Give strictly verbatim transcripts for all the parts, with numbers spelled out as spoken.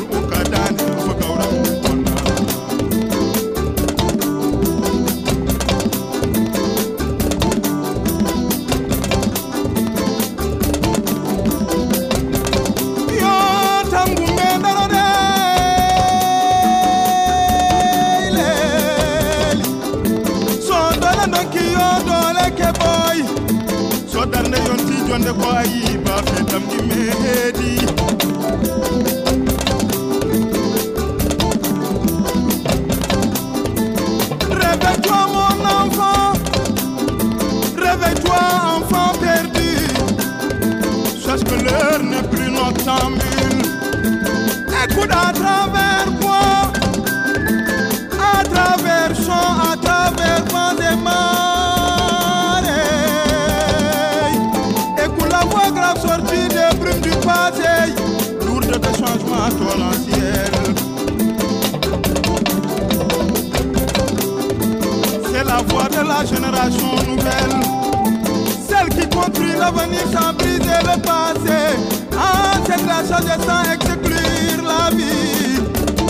C'est la voix de la génération nouvelle, celle qui construit l'avenir sans briser le passé. Ah, c'est la chose sans exclure la vie.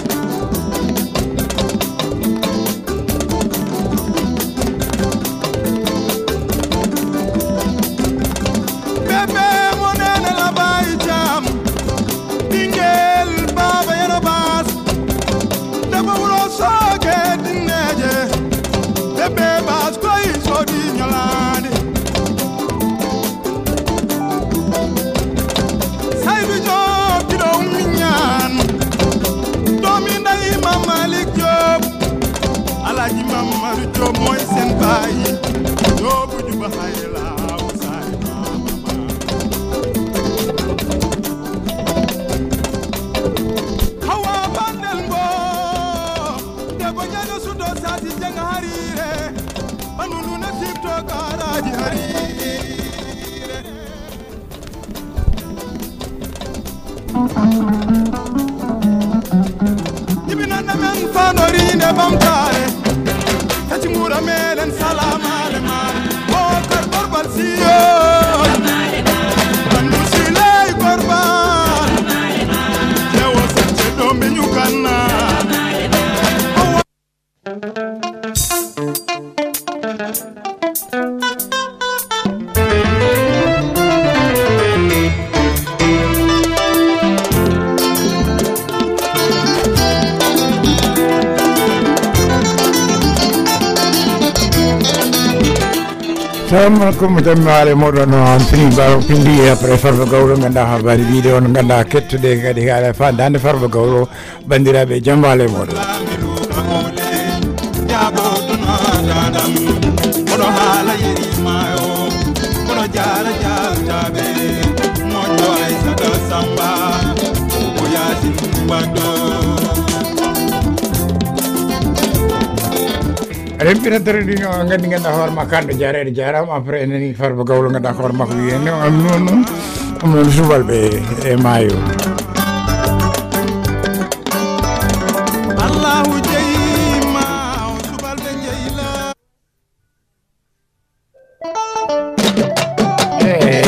Bébé, mon aîné là-bas, il jam. Dingel, baba, yerobas. Debo ulo soge dineje. Bébé, bas, koi, so di nyalande. Saidu job, kido minyan. Dominda imam Malik Job. Alaji Mamar Job, moy sen bayi. Job, juba hayela. Ibinana men fanorine bamtare Tachimura melen salama le mar O karbal balsiyo Bandusile korbal Jewo seche dombe nyukana Assalamualaikum warahmatullahi wabarakatuh. Fini baro pindi après Farba Gawlo nganda habari video nganda kettude kadi hala fa dande Farba Gawlo bandirabe jambale modo. Rempira terdino ngandi nganda hor makande jare jaram après nani Farba Gawlo nganda hor makko yene am nonu am non subalbe e mayo Allahu jeyma subalbe jeyla hey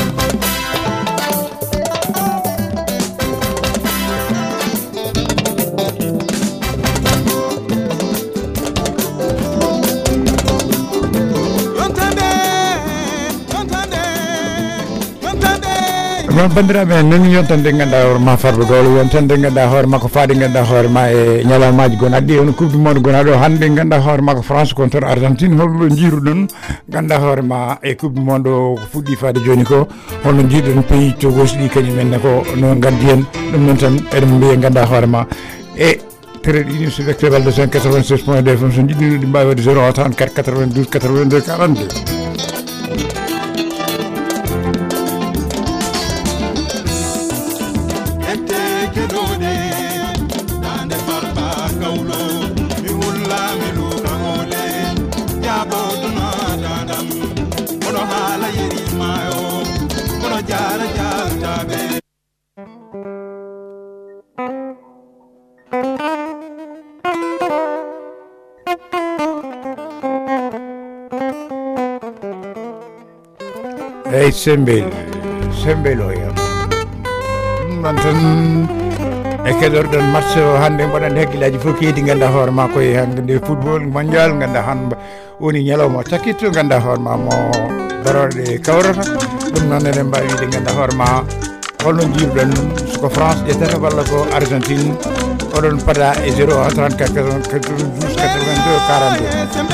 bandiraɓe nani yontande ganduɗa hoore ma Farba Gawlo yontande ganduɗa hoore makko faade ganduɗa hoore ma e ñalawmaji gono addi on coupe du monde gona ɗo hande ganduɗa hoore makko France contre Argentine holno jiiruɗon ganduɗa hoore ma e coupe du monde o ko fuɗɗi faade joni ko holno jiiruɗon pays Togo ɗi kañumenne ko no gaddi hen ɗum noon tan eɗen mbiya ganduɗa hoore ma e tréɗ ini so vecteur balde cinq quatre-vingt-seize point deux fm so jiɗɗino ɗi mbawi wadde zéro trente-quatre quatre-vingt-douze quatre-vingt-deux quarante-deux Hey Sembel, Sembel oyam. Mantan e keɗorɗon match o hannde mbaɗan hakkillaji fof keedi ganduɗa hoore ma koye hande football mondial ganduɗa hande woni ñalawma cakkitto ganduɗa hoore ma mo darorde kawrata ɗum noon eɗen mbawi wiide ganduɗa hoore ma holno jiruɗon soko France ƴettata walla ko Argentine oɗon pada e zéro un trente-quatre quatre-vingt-douze quatre-vingt-deux quarante-deux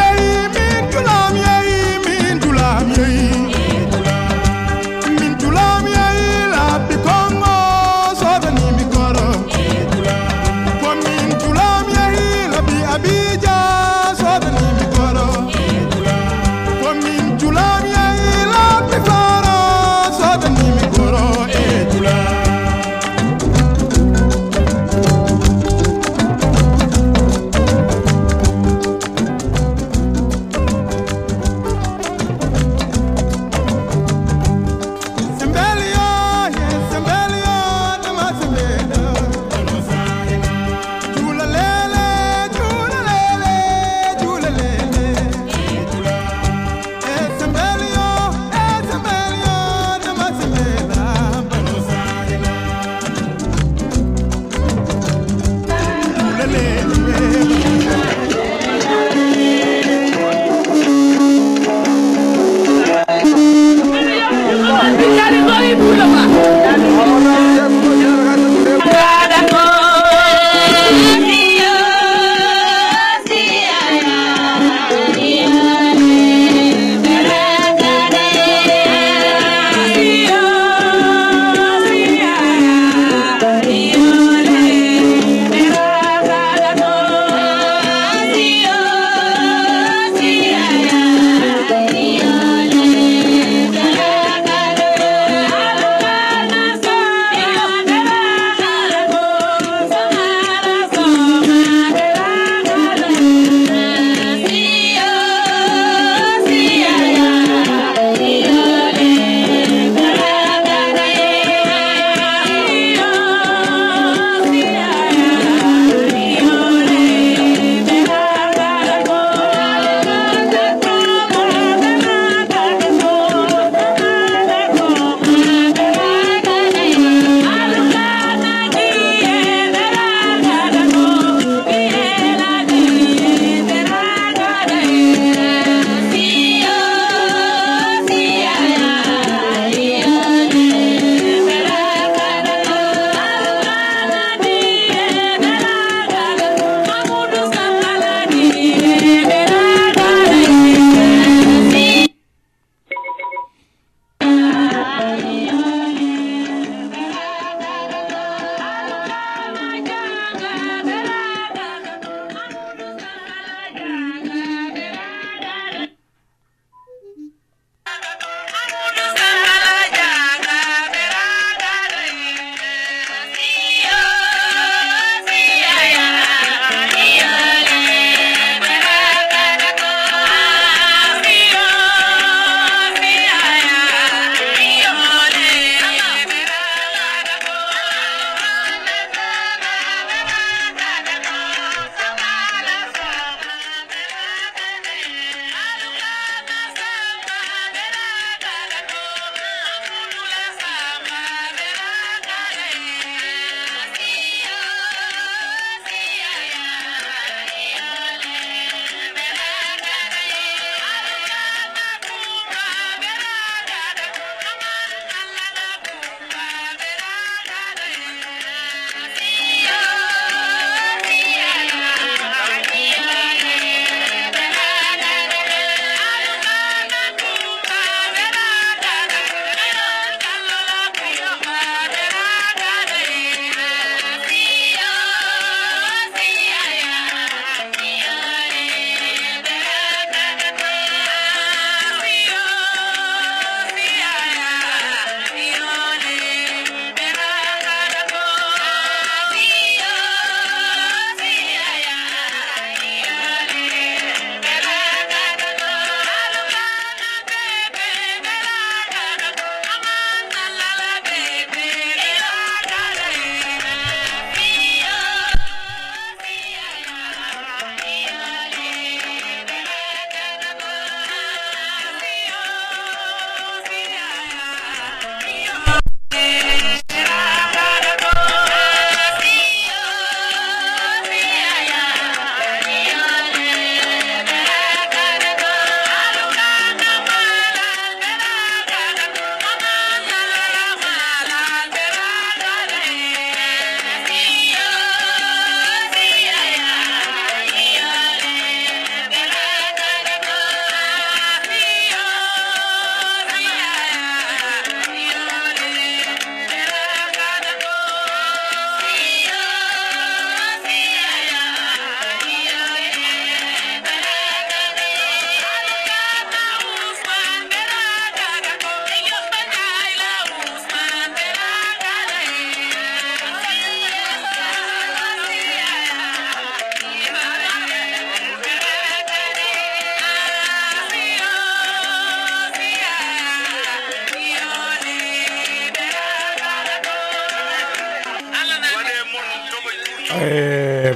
Tula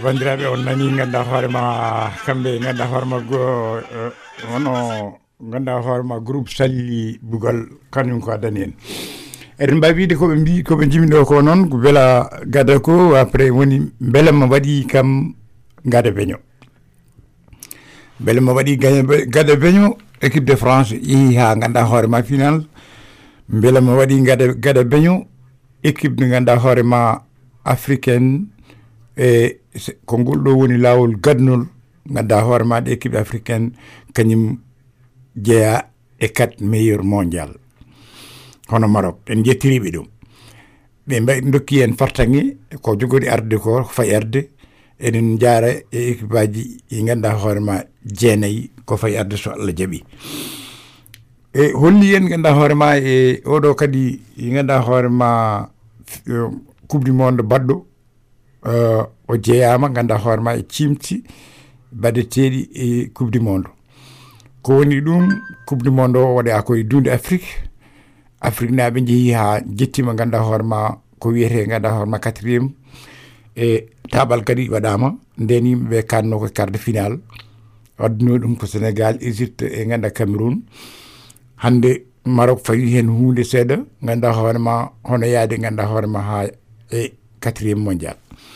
bandiraɓe on nani ganduɗa hoorema kamɓe ganduɗa hoorema go wono ganduɗa hoorema groupe salli bugal kañum ko addani en eɗen mbawi wiide koɓe mbi koɓe jimiɗo ko noon ko beela gada ko après woni beele mo waɗi kam gada beño beele mo waɗi gada beño équipe de France yeehi ha ganduɗa hoorema final beele mo waɗi gada gada beño équipe de ganduɗa hoorema africaine e ko ngol ɗo woni lawol gadnol ganduɗa hoorema ɗe équipe africaine kañum jeeya e quatre meilleur mondial hono Maroc en jettiriɓe ɗum ɓe mbaɗi dokki en fartange ko jogori arde ko fayi arde eɗen jaara e équipe aji ɗi ganduɗa hoorema jeenayyi ko fayi arde so Allah jaaɓi e holli en ganduɗa hoorema e oɗo kadi ganduɗa hoorema coupe du monde baɗɗo Uh, o jeeyama ganduɗa hoorema e cimti baɗeteɗi e coupe du monde ko woni ɗum coupe du monde o waɗa koye dunde afrique afrique naaɓe jeehi ha jettima ganduɗa hoorema ko wiyete ganduɗa hoorema quatriéme e taɓal kadi waɗama nden yimɓeɓe kanno ko quart de finale wadduno ɗum ko sénégal égypte e ganduɗa cameroun hande Maroc fayi hen hunde seeɗa ganduɗa hoorema hono yaade ganduɗa hoorema ha e quatriéme mondial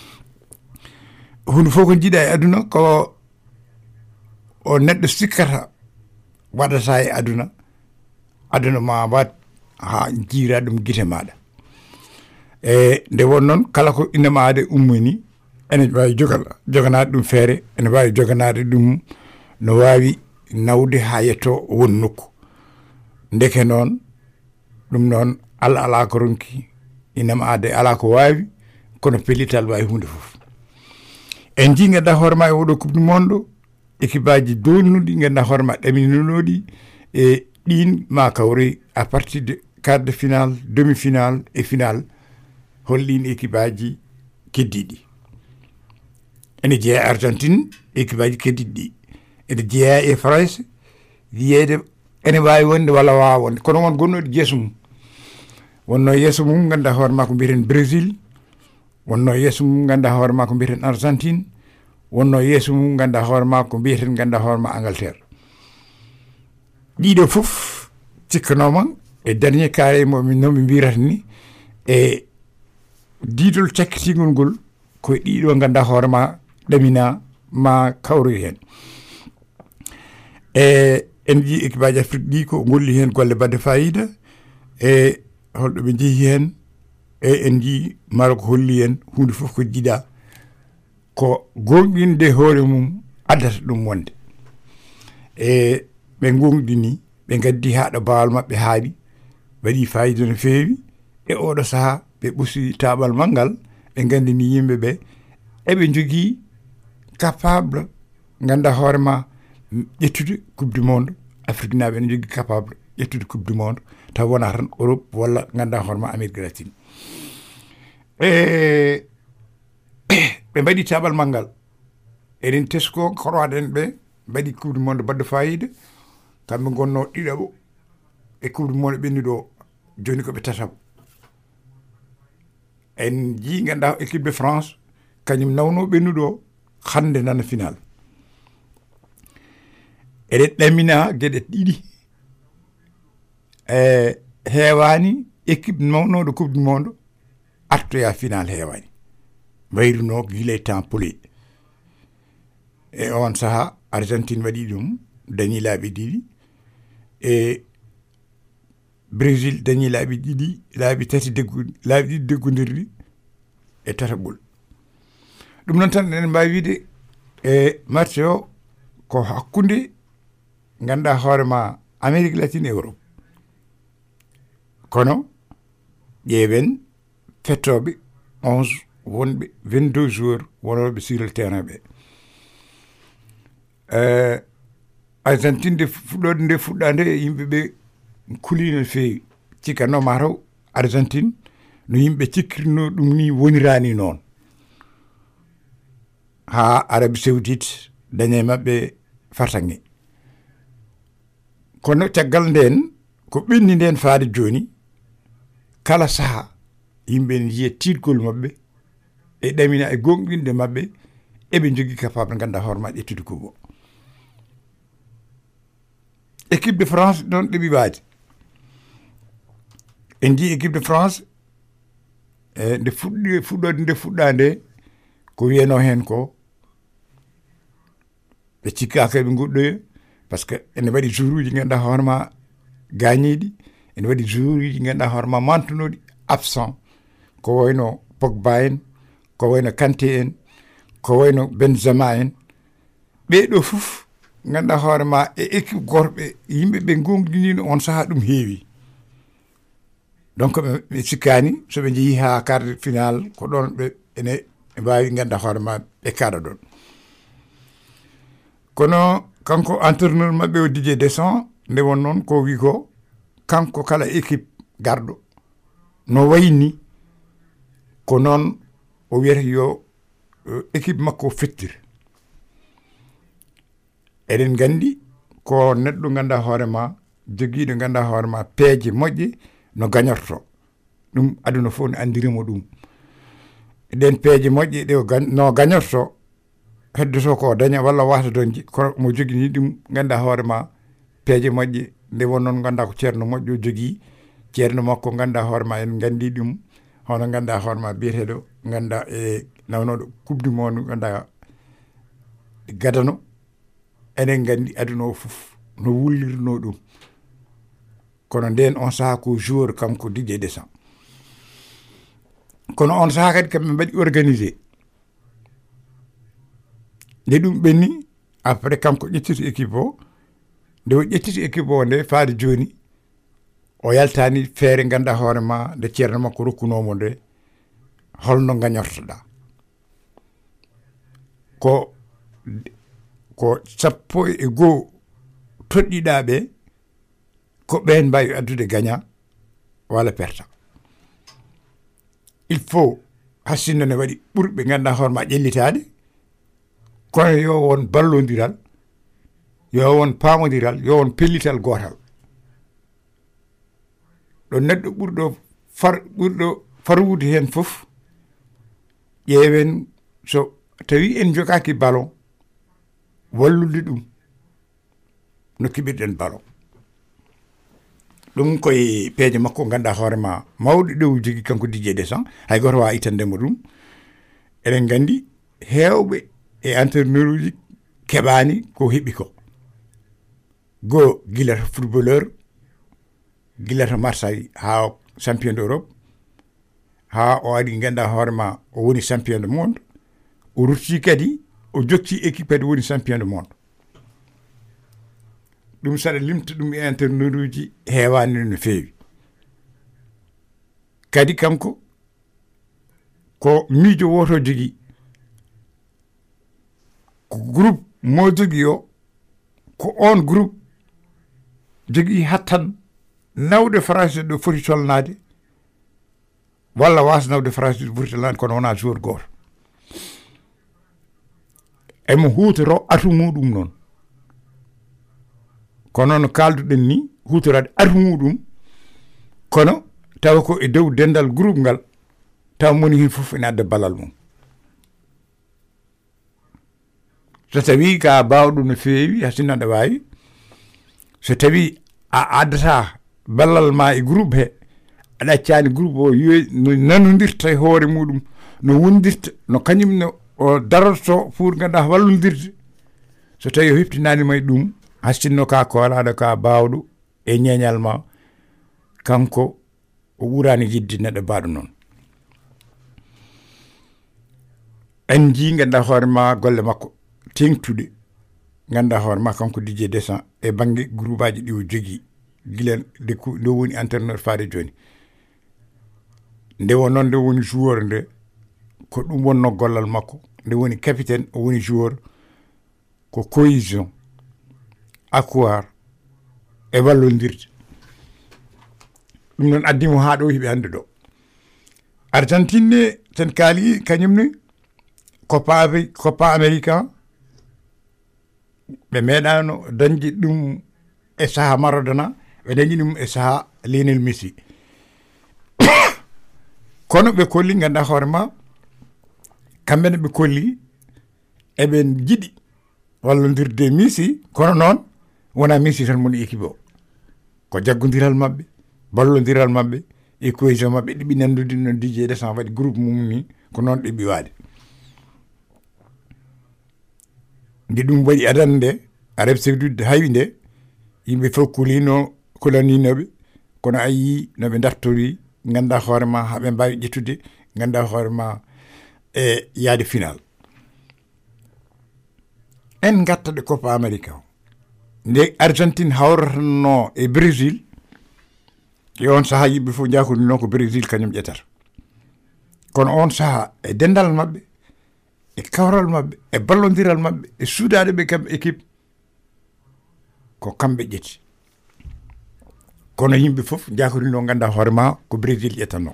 hunde fof ko jiiɗa e aduna ko o neɗɗo sikkata waɗata e aduna aduna ma wat ha jiira ɗum guite maɗa e nde won noon kala ko innama ade ummini ene wawi jogal joganade ɗum feere ene wawi joganade ɗum no wawi nawde ha yetto won nokku ndeke noon ɗum noon Allah ala ko ronki innama ade ala ko wawi kono pellital wawi hunde fof en ji ganduɗa hoorema e oɗo coupe du monde équipe aji donnuɗi ganduɗa hoorema ɗamininoɗi e ɗin ma kawre à partir de quart de finale demi finale et finale hollin équipe aji keddiɗi ene jeeya Argentine équipe aji keddiɗi ɗi ene jeeya e France wiyede ene wawi wonde walla wawa wonde kono won gonnoɗi jeeso mum wonno yeeso mum ganduɗa hoorema ko mbiyeten Brésil wonno yeeso mum ganduɗa hoorema ko mbiyeten Argentine wonno yeeso mum ganduɗa hoorema ko mbiyeten ganduɗa hoorema Angleterre ɗiɗo fof cikkanoma e dernier carré momi nomi mbirata ni e diidol cakkitigol ngol koye ɗiɗo ganduɗa hoorema ɗamina ma kawroy hen e en jii équipe aji Afrique ɗi ko golli hen golle badde fayida e holɗo ɓe jeehi hen e en jii Maroc holli en hunde fof ko jiiɗa ko gonɗinde hoore mum addata ɗum wonde e ɓe gonɗini ɓe gaddi haɗo bawal mabɓe haaɗi waɗi fayida no feewi e oɗo saaha ɓe ɓusi taɓal mangal ɓe gandini yimɓeɓe eɓe jogui capable ganduɗa hoorema ƴettude coupe du monde Afrique naɓe ne jogui capable ƴettude coupe du monde taw wona tan Europe walla ganduɗa hoorema Amérique latine e ɓe mbaɗi taɓal manggal eɗen tesko korwaɗen ɓe mbaɗi coupe du monde badde fayida kamɓe gonno ɗiɗaɓo e coupe du monde ɓennuɗo joni koɓe tataɓo en jii ganduɗa équipe de France kañum nawno ɓennuɗo hande nana final eɗen ɗamina gueɗe ɗiɗi e heewani équipe mawnoɗo coupe du monde artoya final heewani wayruno guilay temps poli e on saaha Argentine waɗi ɗum dañi laaɓi ɗiɗi e Brésil dañi laaɓi ɗiɗi laaɓi tati deggu laaɓi ɗiɗi deggodirɗi e tataɓol ɗum noon tan enen mbawi wiide e match o ko hakkude ganduɗa hoorema Amérique latine e Europe kono ƴeewen fettoɓe onze wonɓe vingt-deux joueurs wonoɓe sur le terrain ɓe uh, Argentine nde fuɗɗode nde fuɗɗade yimɓeɓe kulino no feewi cikkanno mataw Argentine no yimɓe cikkirino ɗum ni wonirani noon ha Arabie Saoudite dañe mabɓe fartange kono caggal nden ko ɓenni nden faade joni kala saha yimɓe ne yiya tiidgol mabɓe e ɗamina e gonɗinde mabɓe eɓe jogui capable ganduɗa hoore ma ƴettude coupe o équipe de France ɗon ɗeɓi waade en jii équipe de France e nde fuɗɗi fuɗɗode nde fuɗɗa nde ko wiyano hen ko ɓe cikkaka ɓe goɗɗoya par ce que ene waɗi jour uji ganduɗa hoore ma gañiɗi ene waɗi jour uji ganduɗa hoore ma mantunoɗi absent ko wayno Pogba en ko wayno Kanté en ko wayno Benzema en ɓeɗo fof ganduɗa hoore ma e équipe gorɓe yimɓeɓe gonɗinino on saaha ɗum heewi donc ɓe sikkani soɓe jeehi ha quart de final ko ɗon ɓe ene mbawi ganduɗa hoore ma ɓe kaɗa ɗon kono kanko entraîneur mabɓe o Didier Deschamps nde won noon ko wi ko kanko kala équipe garɗo no wayni ko noon o wiyata yo équipe makko fettir eɗen gandi ko neɗɗo ganduɗa hoore ma joguiɗo ganduɗa hoore ma peeje moƴƴe no gañorto ɗum aduna fof ne andirimo ɗum ɗen peeje moƴƴe ɗe no gañorto heddoto ko daña walla wata donji ko mo jogini ɗum ganduɗa hoore ma peeje moƴƴe nde won noon ganduɗa ko ceerno moƴƴo o jogui ceerno makko ganduɗa hoore ma en gandi ɗum hono ganduɗa hoore ma biyeteɗo ganduɗa e nawnoɗo coupe du monde ganduɗa gadano enen gandi aduna o fof no wullirno ɗum kono nden on saaha ko joueur kanko Didier Deschamps kono on saaha kadi kamɓe mbaɗi organisé nde ɗum ɓenni après kanko ƴettiti équipe o nde o ƴettiti équipe o nde faade joni o yaltani feere ganduɗa hoore ma nde ceerno makko rokkunomo nde holno gañortoɗa ko ko sappo e goho toɗɗiɗa ɓe ko ɓen mbawi addude gagnant walla perta il faut hassindo ne waɗi ɓurɓe ganduɗa hoore ma ƴellitade kono yo won ballodiral yo won pamodiral yo won pellital gotal ɗo neɗɗo ɓurɗo far ɓurɗo farwude hen fof ƴeewen so tawi en jogaki ballon wallude ɗum no kiɓirɗen ballon ɗum koye peeje makko ganduɗa hoore ma mawɗo ɗow jogui kanko Didier Deschamps hay goto wawa itandemo ɗum eɗen gandi hewɓe e entraîneur uji keɓani ko heeɓi ko go guilata footballeur guilata Marseille ha champion d'Europe ha o ari ganduɗa hoore ma o woni champion du monde o rutti kadi o jokki équipe kadi woni champion du monde ɗum saɗa limta ɗum e entraîneur uji hewani no fewi kadi kanko ko miijo woto jogui ko groupe mo jogui o ko on groupe jogui hattan nawde France ɗo foti tolnade walla wasa nawde France ɗo foti tolnade kono wona joueur goto emo hutoro atu muɗum noon kono no kalduɗen ni hutorade atu muɗum kono tawa ko e dow dendal groupe ngal taw moni hen foof ene adda ballal mum so tawi ka bawɗo no fewi hasinno aɗa wawi so tawi a addata ballal ma e groupe he aɗa accani groupe o yo no nanodirta e hoore muɗum no wondirta no kañum no o daroto pour ganduɗa wallodirde so tawi o heptinanima e ɗum hastinno ka kolaɗo ka bawɗo e ñeñal ma kanko o ɓurani yidde neɗɗo mbaɗo noon en ji ganduɗa hoore ma golle makko tengtude ganduɗa hoore ma kanko Didier Deschamps e banggue groupe aji ɗi o jogui guilen nde nde woni entraîneur faade joni nde won noon nde woni joueur nde ko ɗum wonno gollal makko nde woni capitaine o woni joueur ko cohésion accroire e wallodirde ɗum noon addimo ha ɗo hiɓe hande ɗo Argentine ne ten kaali kañumne Copa Copa Américain ɓe meeɗano dañde ɗum e saaha Maradona ɓe dañi ɗum e saaha Lionel Messi kono ɓe kolli ganduɗa hoore ma kamɓene ɓe kolli eɓen jiɗi wallondirde Messi kono noon wona Messi tan moni équipe o ko jaggodiral maɓɓe ballodiral maɓɓe e cohésion maɓɓe ɗiɓi nandude no Didier Deschamps waɗi groupe mum ni ko noon ɗiɓi waade nde ɗum waɗi adande Arabie Saoudite haywi nde yimɓe fof kulino kulaninoɓe kono a yii no ɓe dartori ganda hoore ma haɓe mbawi ƴettude ganda hoore ma e yaade final en gattaɗe Copa America o nde Argentine hawratano e Brésil e on saaha yimɓe fof jakodino ko Brésil kañum ƴettata kono on saaha e dendal maɓɓe e kawral maɓɓe e ballodiral maɓɓe e suudade ɓe kamɓe équipe ko kamɓe ƴetti kono yimɓe fof jakodino ganda hoore ma ko Brésil ƴettanno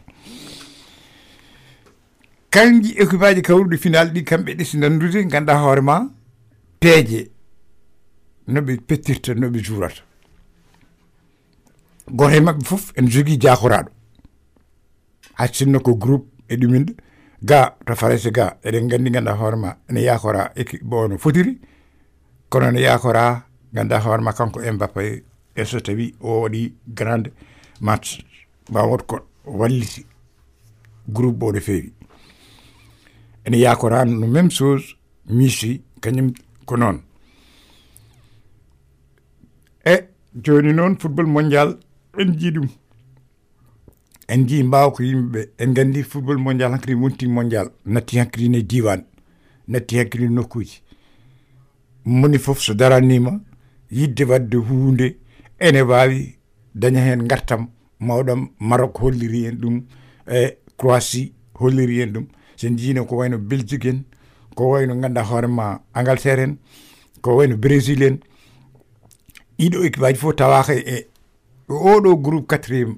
kanji équipe aji kawruɗi final ɗi kamɓe ɗesi nandude ganda hoore ma peeje noɓe pettirta noɓe juurata goto e maɓɓe fof en jogui jakoraɗo haccinno ko groupe e ɗuminde ga to Faransa ga eɗen gandi ganda hoore ma ene yakora équipe bo no fotiri kono ne yakora ganda hoore ma kanko Mbappé e so tawi o waɗi grande match ma wot ko walliti groupe bo no feewi ene yakora no même chose Messi kañum ko noon e joni noon football mondial en jii ɗum en jii mbaw ko yimɓeɓe en gandi football mondial hankkadi wonti mondial natti hankkadi ne diwan natti hankkadi nokkuji moni foof so daranima yidde wadde hunde ene wawi daña hen gartam mawɗam Maroc holliri en ɗum e Croatie holliri en ɗum sen jiino ko wayno Belgique en ko wayno ganda hoorema Angleterre en ko wayno Brésil en ɗiɗo équipe aji fof tawaka e oɗo groupe quatriéme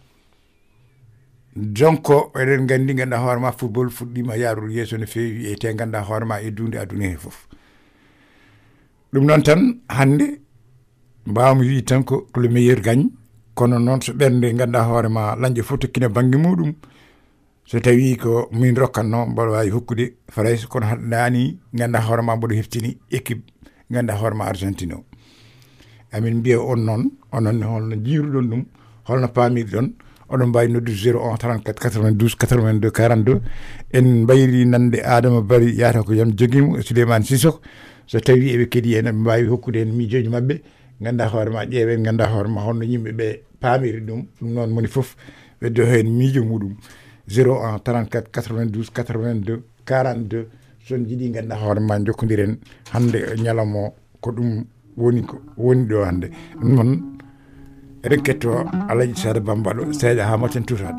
donc eɗen gandi ganda hoorema football fuɗɗima yarude yesso no fewi e te ganda hoorema e dunde aduna he foof ɗum noon tan hande mbawmi wi tan ko le meilleur gagne kono noon so ɓernde ganda hoorema lañƴe fof tokkino banggue muɗum so tawi ko min rokkanno mboɗo wawi hokkude Farais kono haɗani ganda hoorema mboɗo heftini équipe ganda hoorema Argentine o amin mbiya on noon onon holno jiruɗon ɗum holno pamirɗon oɗon mbawi noddu zéro un trente-quatre quatre-vingt-douze quatre-vingt-deux quarante-deux en mbayri nande Adama Bari yata ko yam joguimo Souleymane Sissoko so tawi eɓe keeɗi en ɓe mbawi hokkude en miijoji mabɓe ganda hoorema ƴeewen ganda hoorema holno yimɓeɓe pamiri ɗum ɗum noon moni foof ɓeddo hen miijo muɗum zéro un trente-quatre quatre-vingt-douze quatre-vingt-deux quarante-deux son jiiɗi ganda hoorema jokkodiren hande ñalawma ko ɗum woni ko woni ɗo hande ɗum noon eɗen ketto Alaji Sada Bambaɗo seeɗa ha moten tutade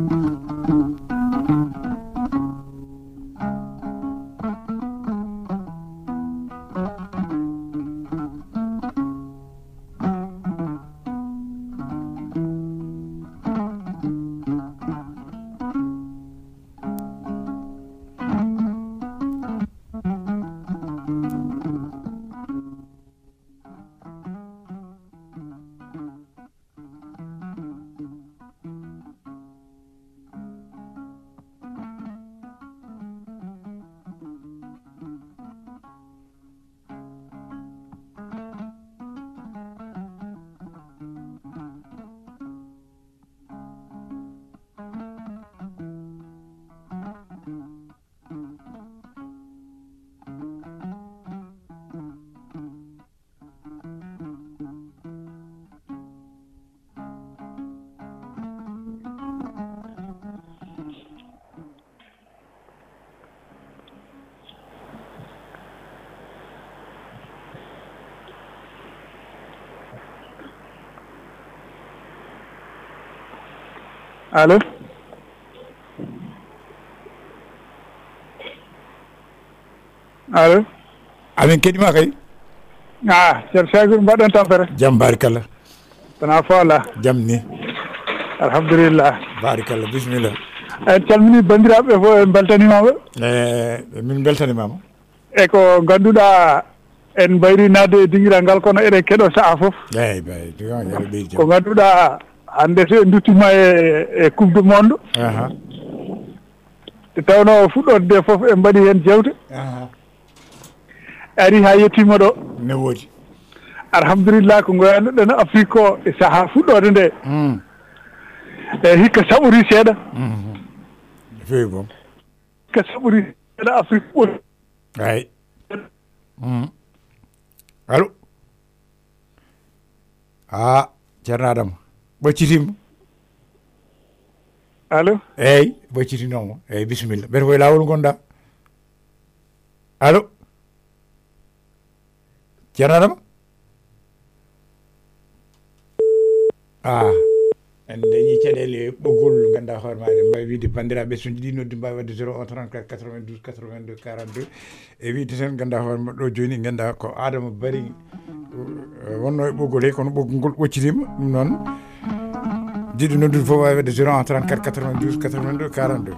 allo allo amin keɗima kay ah ceerno Sagour mbaɗɗon tampere jaam barikalla tana foola jaam ni alhamdulillah barikalla bisimilla en calmini bandiraɓe fof en beltanimaɓe e min beltanimama e ko ganduɗa en mbayri nadde e dinguiral ngal kono eɗen keeɗo saaha foof eyyi bay yaɗa ɓeydi ko ganduɗa hande so en duttima e e coupe du monde aha te tawno fuɗɗorde nde foof en mbaɗi hen jewte aha ari ha yettima ɗo ne woodi alhamdulillah ko goyanɗo no Afrique o e saaha fuɗɗode nde e hikka saɓori seeɗa fewi boom hikka saɓori seeɗa Afrique ɓuri ay allo a ceerno Adama ɓoccitima allo eyyi ɓoccitinomo eyyi bisimilla mbete koye lawol gonɗa allo ceerno Adama ah en dañi caɗele ɓoggol ganduɗa hoore maɗe mbawi wiide bandiraɓe so jiiɗi noddu mbawi wadde zéro un trente-quatre quatre-vingt-douze quatre-vingt-deux quarante-deux e wiide tan ganduɗa hoore maɗe ɗo joni ganduɗa ko Adama Bari wonno e ɓoggol he kono ɓoggol ngol ɓoccitima ɗum noon jiiɗi noddude fof wawi wadde zéro un trente-quatre quatre-vingt-douze quatre-vingt-deux quarante-deux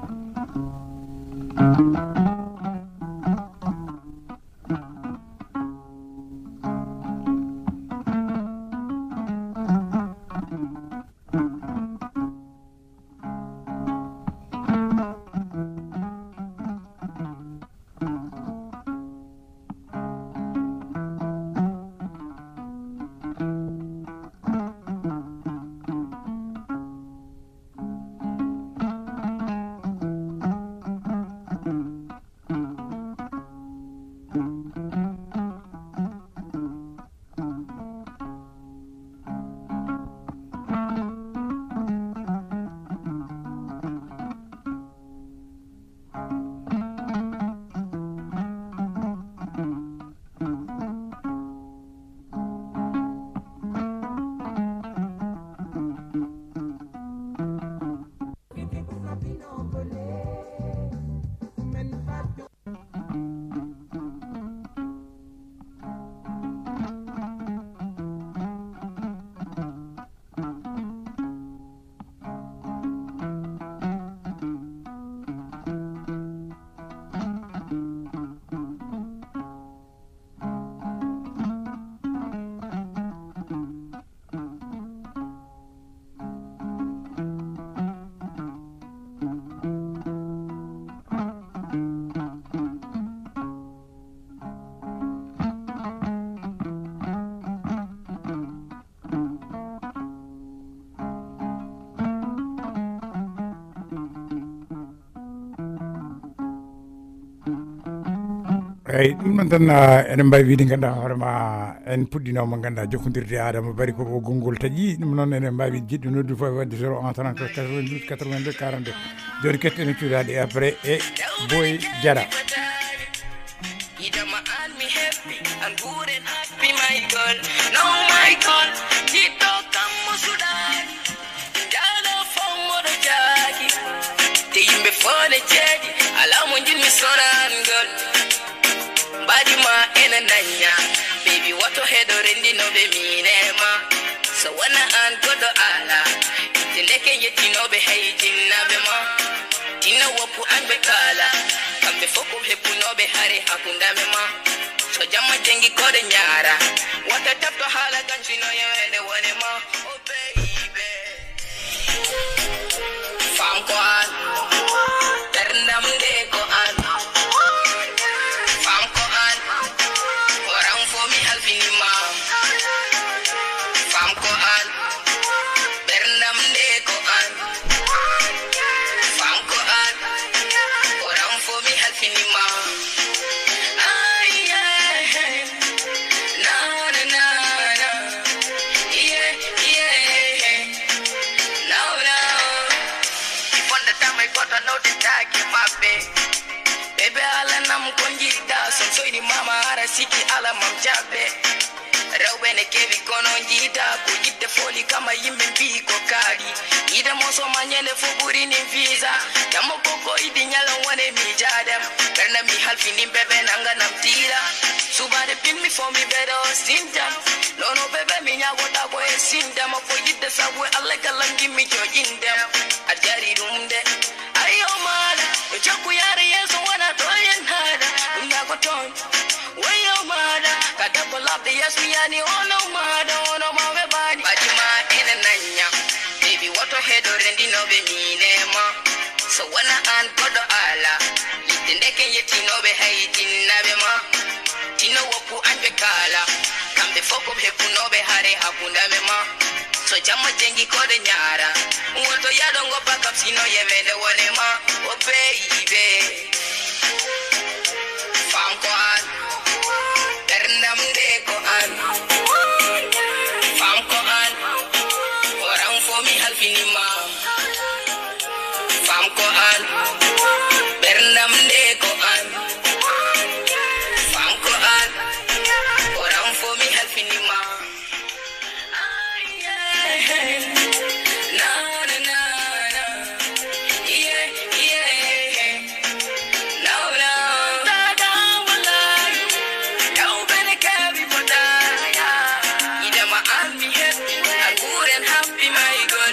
eyyi ɗum noon tan eɗen mbawi wiide ganduɗa hoorema en puɗɗinoma ganduɗa jokkodirde Adama Bari ko ɓoggol ngol taaƴi ɗum noon eɗen mbawi jiɗɗo noddu fof wadde zéro un trente-quatre quatre-vingt-douze quatre-vingt-deux quarante-deux joni kettene cuuɗaɗe e après e Boy Diarra Badima ena nanya baby wato hedo rendi no be minema so wana an godo ala tindeke yeti no be haytin na be ma tina wopu an be kala kambe foko hepu no be hari hakunda me ma so jamma jengi kode nyara wata tapto hala ganchi no yene wone ma oh baby fam ko an ternam de ko an Baby ala nam konjita son soy di mama ara siki ala mam jabe Rewbe ne kebi kono njita ko jidde foli kama yimbe mbi ko kadi ida moso manyene fo buri ni visa damo koko idi nyala wane mi jadem berna mi halfi ni bebe nanga nam tira subade pin mi for mi bedo sinta no no bebe mi nyago ta ko e sinta mo ko jidde sabu alla kalangi mi jojinde ajari rumde ayo mala Joku yare yeso wana toyen hada Unyago ton Wayo mada Kadabo labde yesu yani ono mada Ono mawe bani Bajima ene nanya Baby wato hedo rendi no be minema So wana an kodo ala Yitindeke yeti no be haiti nabe ma tino woku anjwe kala kambe foko he kunobe hare hakunda mema so chama jengi kode nyara woto yadongo paka sino yevende wonema o baby fam ko an dernam de ko an fam ko an oram for me halfini ma fam ko an dernam de ko an fam ko an oram for me halfini ma na na na na yeah yeah no no da da wala don't be carry for that ida ma army head a good and happy my girl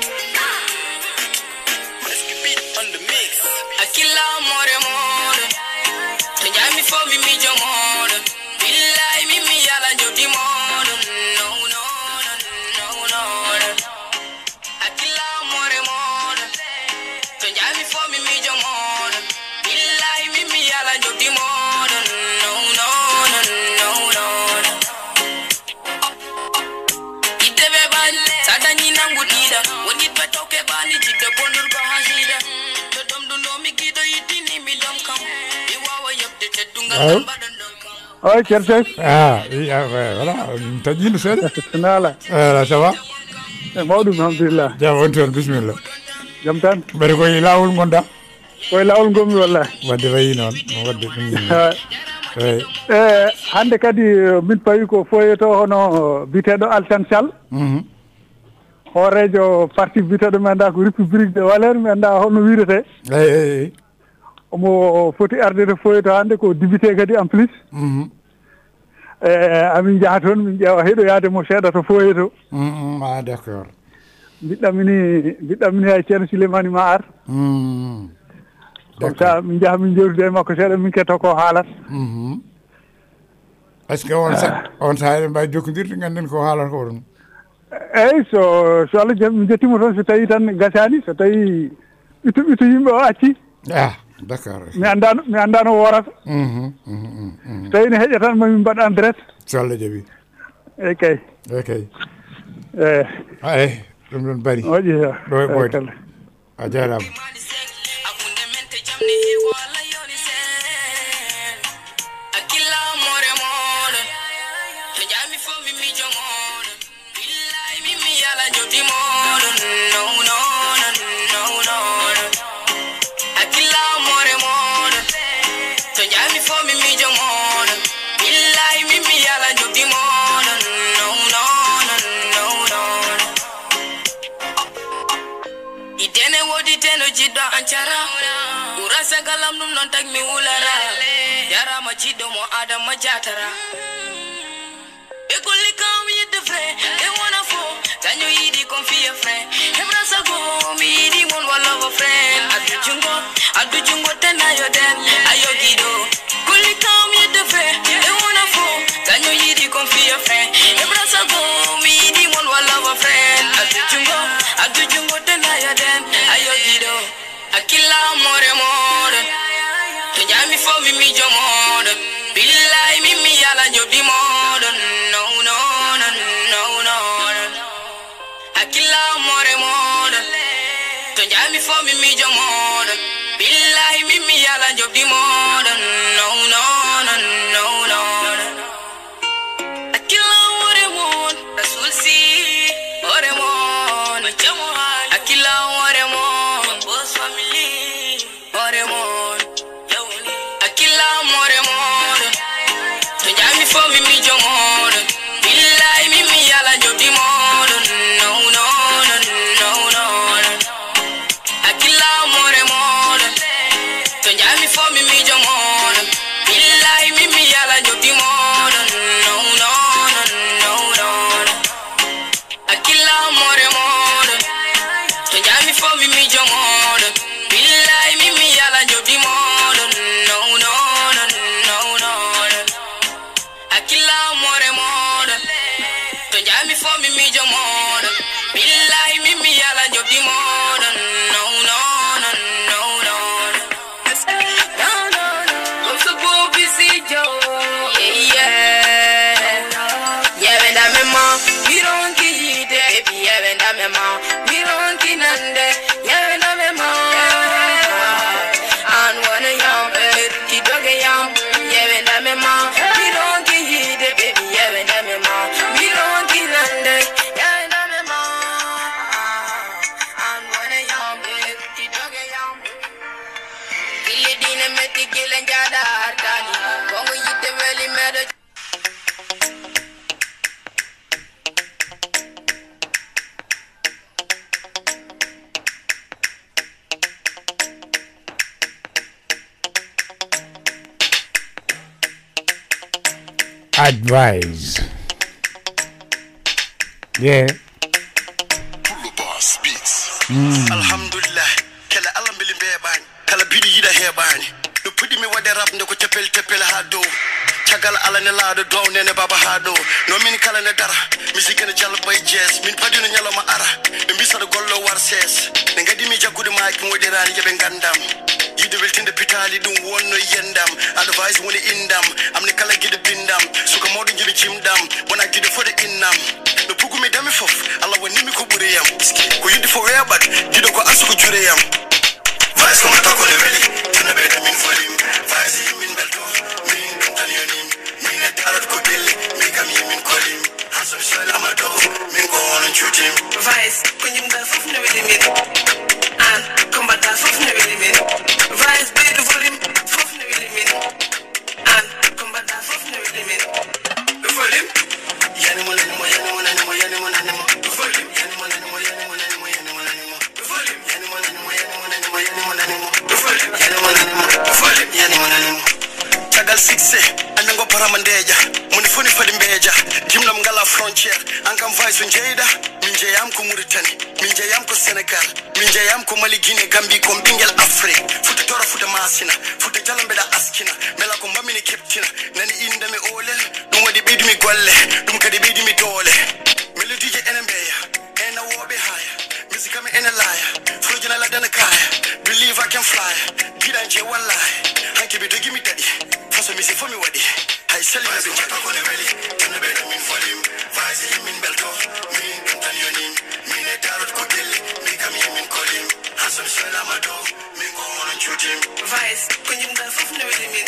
let's keep it on the mix akila more more to jami for me mi jomo billahi mi mi yala jodi mo no no no no akila more more to jami for me mi jomo billahi mi mi yala jodi mo no no no no idebe ban sadani nangu dida woni betoke bani jidde bonur ko hasida to dom do no mi gido yitini mi dom kam mi wawa yobde teddungal badon Oui, Kerchef. Ah, oui, ah, ouais, voilà. T'as dit le seul Nala. euh, Ça va Maoudou, alhamdulillah. Jam wonton, bismillah. Jam tan. Bari koy lawol gonda. Koy lawol gomi wallahi. Wadde wayi non, wadde. Oui. Eh, hande kadi min pawi ko foyeto hono biteɗo Altan Sall. Mhm. Horejo parti biteɗo mi anda ko République de Valeur mi anda hono wirete. Eyi eyi. Omo foti arde foyeto hande ko député kadi en plus. Mhm. Eh, amin jaha toon min ƴeewa heɗo yaade mo seeɗa to foyeto. Mhm. Ah, d'accord. mbiɗɗamini mbiɗɗamini hay ceerno Souleymani ma ar. Mhm. comme ça min jaha min jewtude e makko seeɗa min ketto ko haalat. Mhm. Est-ce que on sa on sa eɗen mbawi jokkodirde ganden ko haalata ko ɗum? eyyi so so Allah jaɓi mi jettimo toon so tawi tan gasani so tawi ɓitu ɓitu yimɓe o acci. Ah, d'accord. mi andano mi andano worata. Mhm. Mhm. Mhm. so tawi ne heƴa tan mami mbaɗa en direct. So Allah jaɓi. eyyi kay. Eyyi kay. eyyi. Ay, ɗum ɗon bari. moƴƴi ɗo e ɓoyde. A jarama. Urasa galam num non tag mi wulara yara ma cido mo adam ma jatara e golli kam yidde fré e wona fo tanyo yidi confie fré e brasa go mi yidi mon wala go friend adu jungo adu jungo tenayo den ayo gido golli kam yidde fré e wona fo tanyo yidi confie fré e brasa go mi yidi mon wala go friend adu jungo adu jungo tenayo den ayo gido akila more more to jami fo mi mi jomo billahi mi mi yala jodi mo no no no no no akila more more to jami fo mi mi jomo billahi mi mi yala jodi mo no no no no no akila more more rasul si more more jomo akila more more boss family more more akila more more to jami fo mi mi jomo billahi mi mi yala jodi mo no no no no no akila more more to jami fo mi mi jomo billahi mi mi yala jodi mo no no no no akila more more to jami fo mi mi jomo billahi mi mi yala jodi mo no no no no akila more more to jami fo mi mi jomo billahi mi mi yala jodi mo no no no no no no no I'm so busy Joe yeah Advise. Yeah. Mm. Alhamdulillah, kala Allah mbili beban, kala bidi yida hebani. No pudi mi wade rap ndeko tepel tepel hado. Chagal ala ne lado do nene baba hado. No min kala ne dara, musique ne jalla boy jazz. Min padi no nyala ma ara. Mbisa do gollo war ses. Ngadi mi jagude ma ki wode rani jebe ngandam. Yide weltinde pitali dum wonno yendam. Advice woni indam. Amne kala gide bindam. Suka modu jibi chimdam. Wana gide for the innam. No pugu me dami fof. Allah woni mi ko buriyam. Ko yidi for where but gido ko asu ko jureyam. Vice ko mata ko leveli. Tana be da min folim. Vice min belto. Min dum tanyonim. Min e tarot ko delle. Mi kam min kolim. Haso shala do. Min ko on chutim. Vice ko nyim da fof ne weli min. An kombata fof ne weli min. Vice be the volume. Fof ne weli min. An kombata fof ne weli min. The volume. Yani mo yani mo yani mo yani mo yani mo yani mo. The volume. Yani mo yani mo yani mo yani mo yani mo yani mo. The volume. Yani mo yani mo yani mo yani mo yani mo yani mo. The volume. Yani mo yani mo. The volume. Yani mo yani mo. Tagal six anango paramandeja. Muni funi fadi mbeja. Jimna mngala frontier. Ankam vice unjeda. Minje yam ko Mauritanie. Minje yam ko Senegal. Minje yam ko Mali, Guinée, Gambie, ko Bingel Afrique. Futa tora futa masina. Futa jalambe da askina. Mela ko mbamini keptina. Nani inda mi olel. Dum wadi bidi mi golle. Dum kadi bidi mi dole. Mele D J enembeya. Ena wobe haya. Music me ena liar. Frojina la dana kaya. Believe I can fly. Gida nje wallahi. Hanki bi dogi mi daddy. Faso mi si fomi wadi. Hay seli na bi jata ko ne weli. Tana be da min folim. Vaisi min belto. Min dum tanyonim. Min e tarot ko delle. Mi kam min kolim. Haso shala do. Min ko on chutim. Vice ko nyim da fof ne weli min.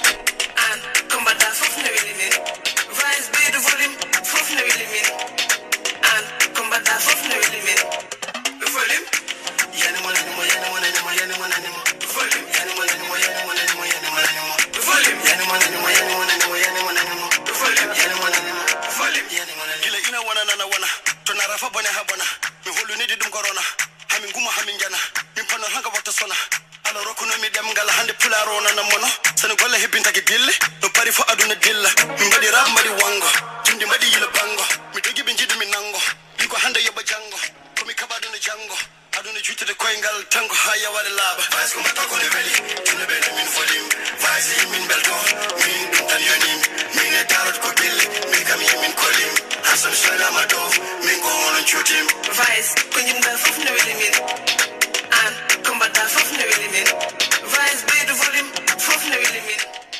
An kombata fof ne weli min. Vice be the volume. Fof ne weli min. An kombata fof ne weli min. The volume. Yani mo yani mo yani mo yani mo yani mo yani mo. The volume. Yani mo yani mo yani mo yani mo yani mo yani mo. The volume. Yani mo yani mo yani mo yani mo yani mo yani mo. The volume. Yani mo yani mo. The volume. Yani mo yani. Gila ina wana na wana. Tona rafa bone habona. Mi holu ni di dum corona. Hamin guma hamin jana. Mi pano hanga wata sona. Ala roku no mi dem ngala hande pularo na na mono. Sene golle hebinta ke dille. No pari fo aduna dilla. Mi mbadi rap mbadi wango. Jindi mbadi yila bango. Mi dogi bin jidi mi nango. Liko hande yoba jango. Komi kabadu ne jango. Aduna juite de koingal tango haya wale laba. Vice ko mata ko ne veli. Tune bele min folim. Vice min belto. Min dum tanyonim. Min e tarot ko dille. Mi kam min kolim. Hasan shala do. Min ko on chutim. Vice ko nyim da fof ne weli min. An kombata fof ne weli min. Vice be the volume. Fof ne weli min.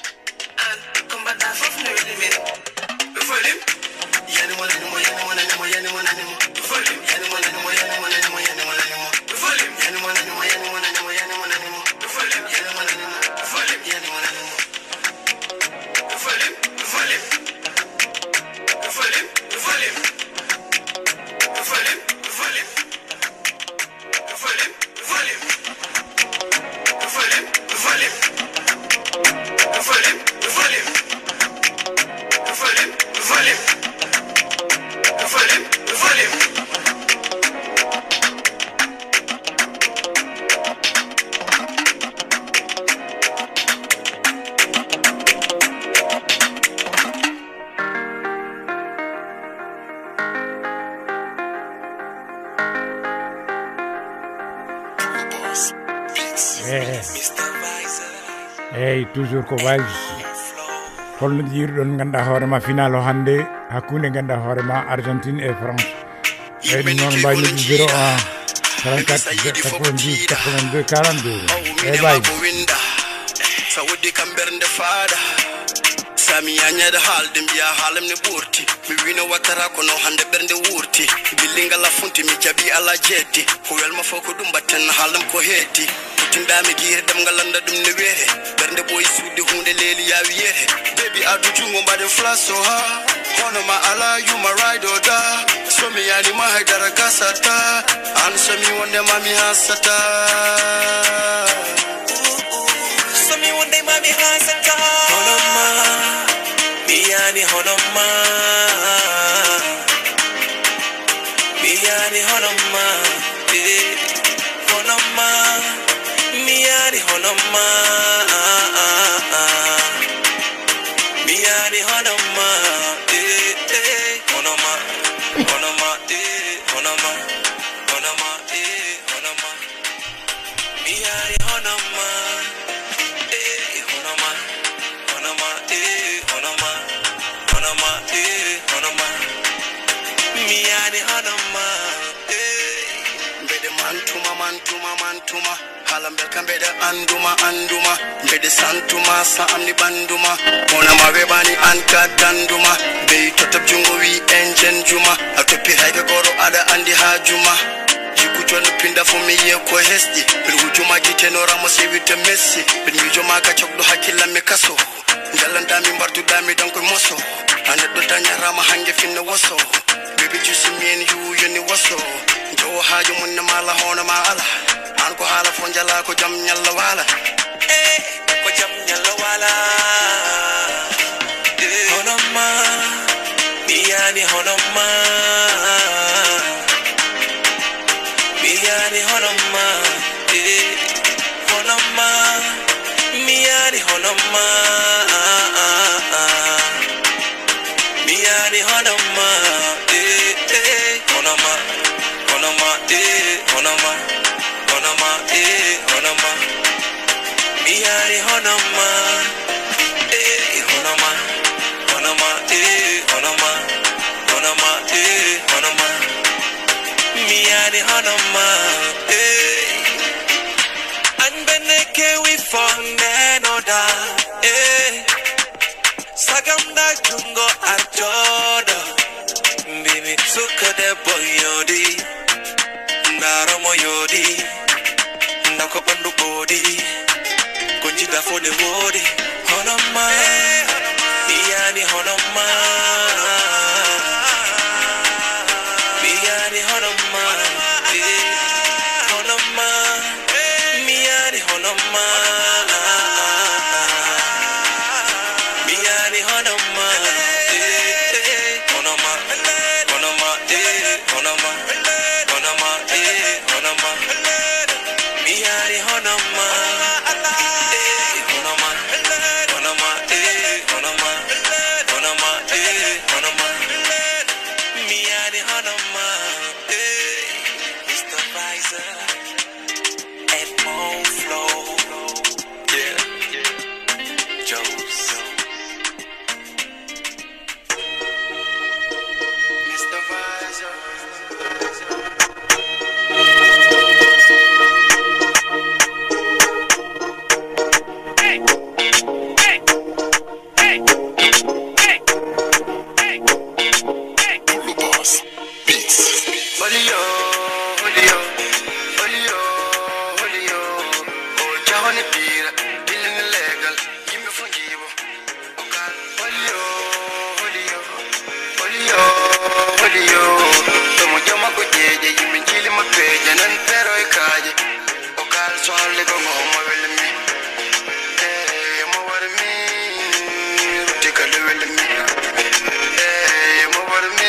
An kombata fof ne weli min. The volume. Yani mo yani mo yani mo yani mo yani mo yani mo. The volume. Yani mo yani mo yani mo yani mo yani mo yani mo. The volume. Yani mo yani mo yani mo yani mo yani mo yani mo. The volume. Yani mo yani mo. The volume. Yani mo yani mo. The volume. The volume. The volume. The volume. The volume. The volume. The volume. The volume. The volume. The volume. The volume. The volume. The volume. The volume. The volume. The volume. Hey, toujours ko Vibes. Holno jiiruɗon ganduɗa hoorema final o hannde hakkunde ganduɗa hoorema Argentine et France. Eyyi ɗum noon mbawi noddu zéro un trente-quatre quatre-vingt-dix quatre-vingt-deux quarante-deux. Eyyi Vibes. Sa woddi kam bernde faada. Sami yañede haalde mbiya haalam ne ɓurti. Mi wino wattata kono hande bernde wurti. Billingal a funti mi jaɓi ala jeetti. Ko welma fof ko ɗum batten haalam ko heetti. Tindami gire dem ngalanda dum ne wete bernde boy suudi hunde leeli yawi yete baby adu jungo mbaden flash so ha hono ma ala you my ride or die so mi yani ma haydara kasata an so mi wonde mami hasata so mi wonde mami hasata hono ma mi yani hono ma mi yani hono ma hono ma Miyani honoma Miyani honoma honoma, eh, honoma. Miani honoma, eh. Mbede mantuma, mantuma, mantuma. Halambel kambede anduma, anduma. Mbede santuma, sa amni banduma. Mona mawebani anka danduma. Be totop jungo wi enjen juma. Atopi haike goro ada andi hajuma. Jikuchonu pinda fumi ye ko hesti. Bin hujuma kiteno ramo sewite messi. Bin yujuma ka chokdo hakila mekaso. Njalanda mi mbartu dami danko moso. Ane do danya rama hange finna waso. Baby juicy me and you yoni waso. Jo hajo munna mala hona mala. Anko hala fonjala ko jam nyalla wala. Eh, ko jam nyalla wala. Eh, honoma, miyani honoma. Miyani honoma, eh, honoma, miyani honoma. Miyani honoma, eh, eh, honoma, honoma, eh, honoma, honoma, eh, honoma. Miyani honoma, eh, honoma, honoma, eh, honoma, honoma, eh, honoma. Miyani honoma, eh. Anbeneke we found enoda, eh. Sagamda jungo arjoda, bibi suka de boyodi, ndaro moyodi, ndako pandu bodi, konji da fone wodi, honoma, miyani honoma, miyani honoma, eh, honoma, miyani honoma. Miyani honoma, eh, eh, honoma, honoma, eh, honoma, honoma, eh, honoma. Miyani honoma, eh, honoma, honoma, eh, honoma, honoma, eh, honoma. Miyani honoma, eh, Mister Riser, Edmond Flow, yeah, Jones. Mister Visor. Olio, olio, olio, olio. Oh, jahone pira, bilin legal, yimbe fungibo. Okal, olio, olio, olio, olio. Tomo jama ko jeje, yimbe jili ma peje, nan pero e kaje. Okal, swale ko ngoma wele mi. Eh, mo war mi, rutika le wele mi. Eh, mo war mi.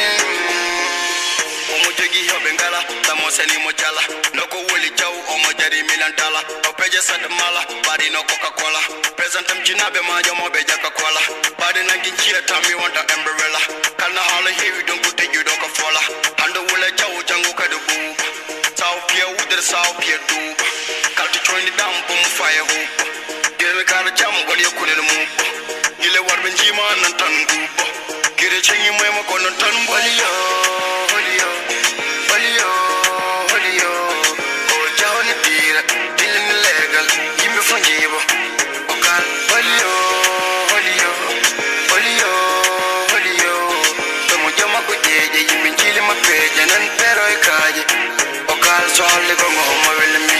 Omo jogi hobe ngala, tamo seni mo jala. Noko woli jaw, omo jari milan dala. Opeje sad mala, bari no Coca-Cola. Presentam jinabe majo mo be jaka kola. Bari na ginchia tami wanta umbrella. Kana hala heavy don't go take you don't go fola. Hando wole jaw jango kadu booba. Sao pia uder sao pia duba. Kalti troni down boom fire hoop. Gere kara jam goli yakune no muba. Gile warben jima nan tan guba. Gire chengi mwema kono tan bolio. Olio, olio, olio. Oh, jahone pira, bilin legal, yimbe fungibo. Okal, olio, olio, olio, olio. Tomo jama ko jeje, yimbe jili ma peje, nan pero e kaje. Okal, swale ko ngoma wele mi.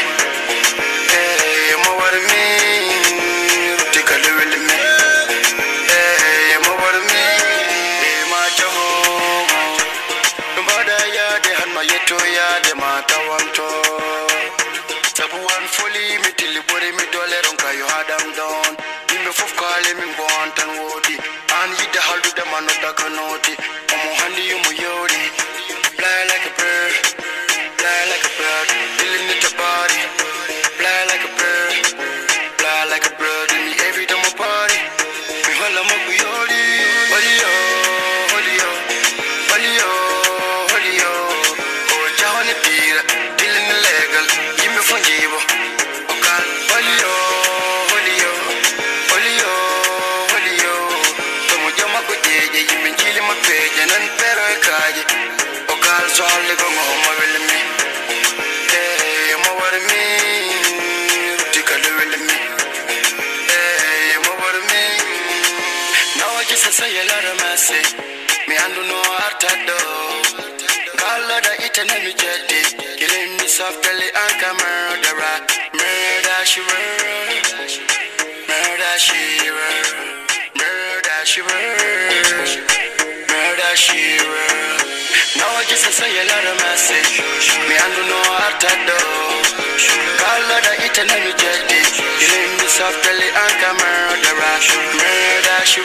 Eh, mo war mi, rutika le wele mi. Eh, mo war mi, eh, ma jaho. Mbada ya de hanma yeto ya de matawanto. Tabuan foli mi tilibori mi dole ronka yo hadam down. Nimbe fof kale mi bontan wodi. An yida haldu de manoda kanoti. Omo handi yumu yodi. Fly like a bird, fly like a bird. Feeling it your body. Fly like a bird, fly like a bird. In the every time I party. Mi hala moku yodi. Olio, olio, olio, olio. Oh, jahone pira, feeling illegal. Yimbe fungibo. Okal, olio, olio, olio, olio. Tomo jama ko jeje, yimbe jili ben pero e kaji o kal solli ko mo mo wel mi eh mo war mi tikale wel mi eh mo war mi now I just say a lot of mercy me andu no artado kala da itana mi jedi killing me softly and camera murder she murder she murder she murder she now I just say a lot of mercy me andu no artado kala da itana mi jedi killing me softly and camera murder she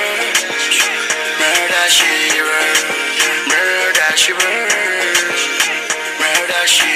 murder she murder she murder she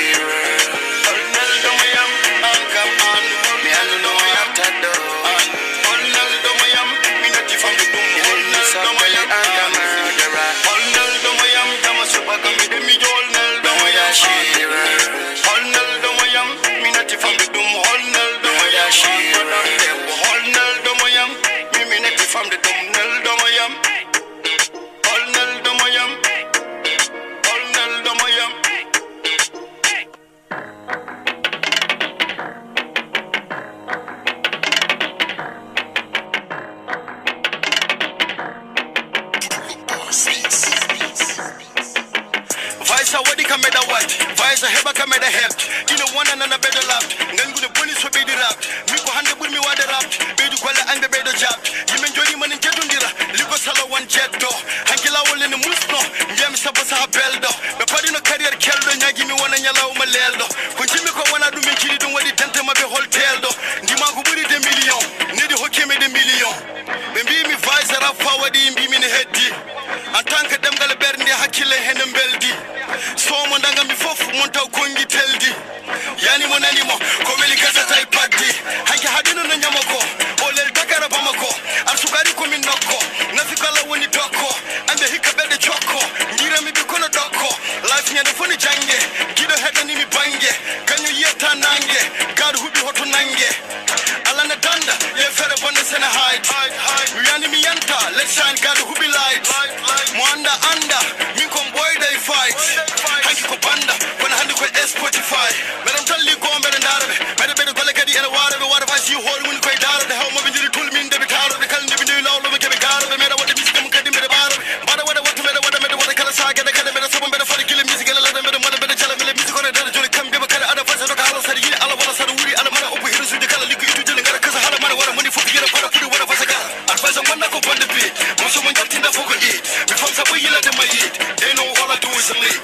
Vice heba kameda help ino wana na bedo lap ngangu ne police so be di rap mi ko hande bur mi wade rap be du kwala ande be do jap yimen jodi man jedundira liko sala wan jetto hankila wolle ne musno ngem sabo sa beldo be padi no career keldo nyagi mi wana nyalaw ma leldo ko jimi ko wana dum min cidi dum wadi tante ma be hotel do ndima ko buri de million ne di hokeme de million be mbi mi vice rap fa wadi mbi min heddi en tant que demgal bernde hakile hen beldi so mo ndanga mi fofu monta kongi teldi yani mo nani mo ko weli kasa tay paddi hanke hadino na nyamako o lel dakara bamako ar sugari ko min nokko nafikala woni tokko ande hikka bede chokko ngira mi bi kono dokko life nyande foni jange gido hedani mi bange kanyo yeta nange gad hubi hoto nange ala na danda ye fere bonne sena hide yani mi yanta let's shine gad hubi light mo anda anda min kon boy day fight hanki ko banda kono hande ko Spotify madam talli ko mbere ndarabe mede bede golle kadi ene warabe wara fasi hol mun koy darabe haw mo be jiri tul min de be tarobe kal de be ndi lawlo be kebe garabe mede wada musique mun kadi mede barabe bada wada wata mede wada mede wada kala saga de kala mede sabo mede fari kile musique la de mede mede mede chala mede musique ko de joli kambe be kala ada fasa do kala sari yi ala wala sari wuri ala mara obu hiru de kala liku itu jeli ngara kasa hala mara wara moni fuki yera para pudi wara fasa kala advise on na ko bande bi mo so mon jatinda foko eat be fam sabo yila de my eat they know all I do is lead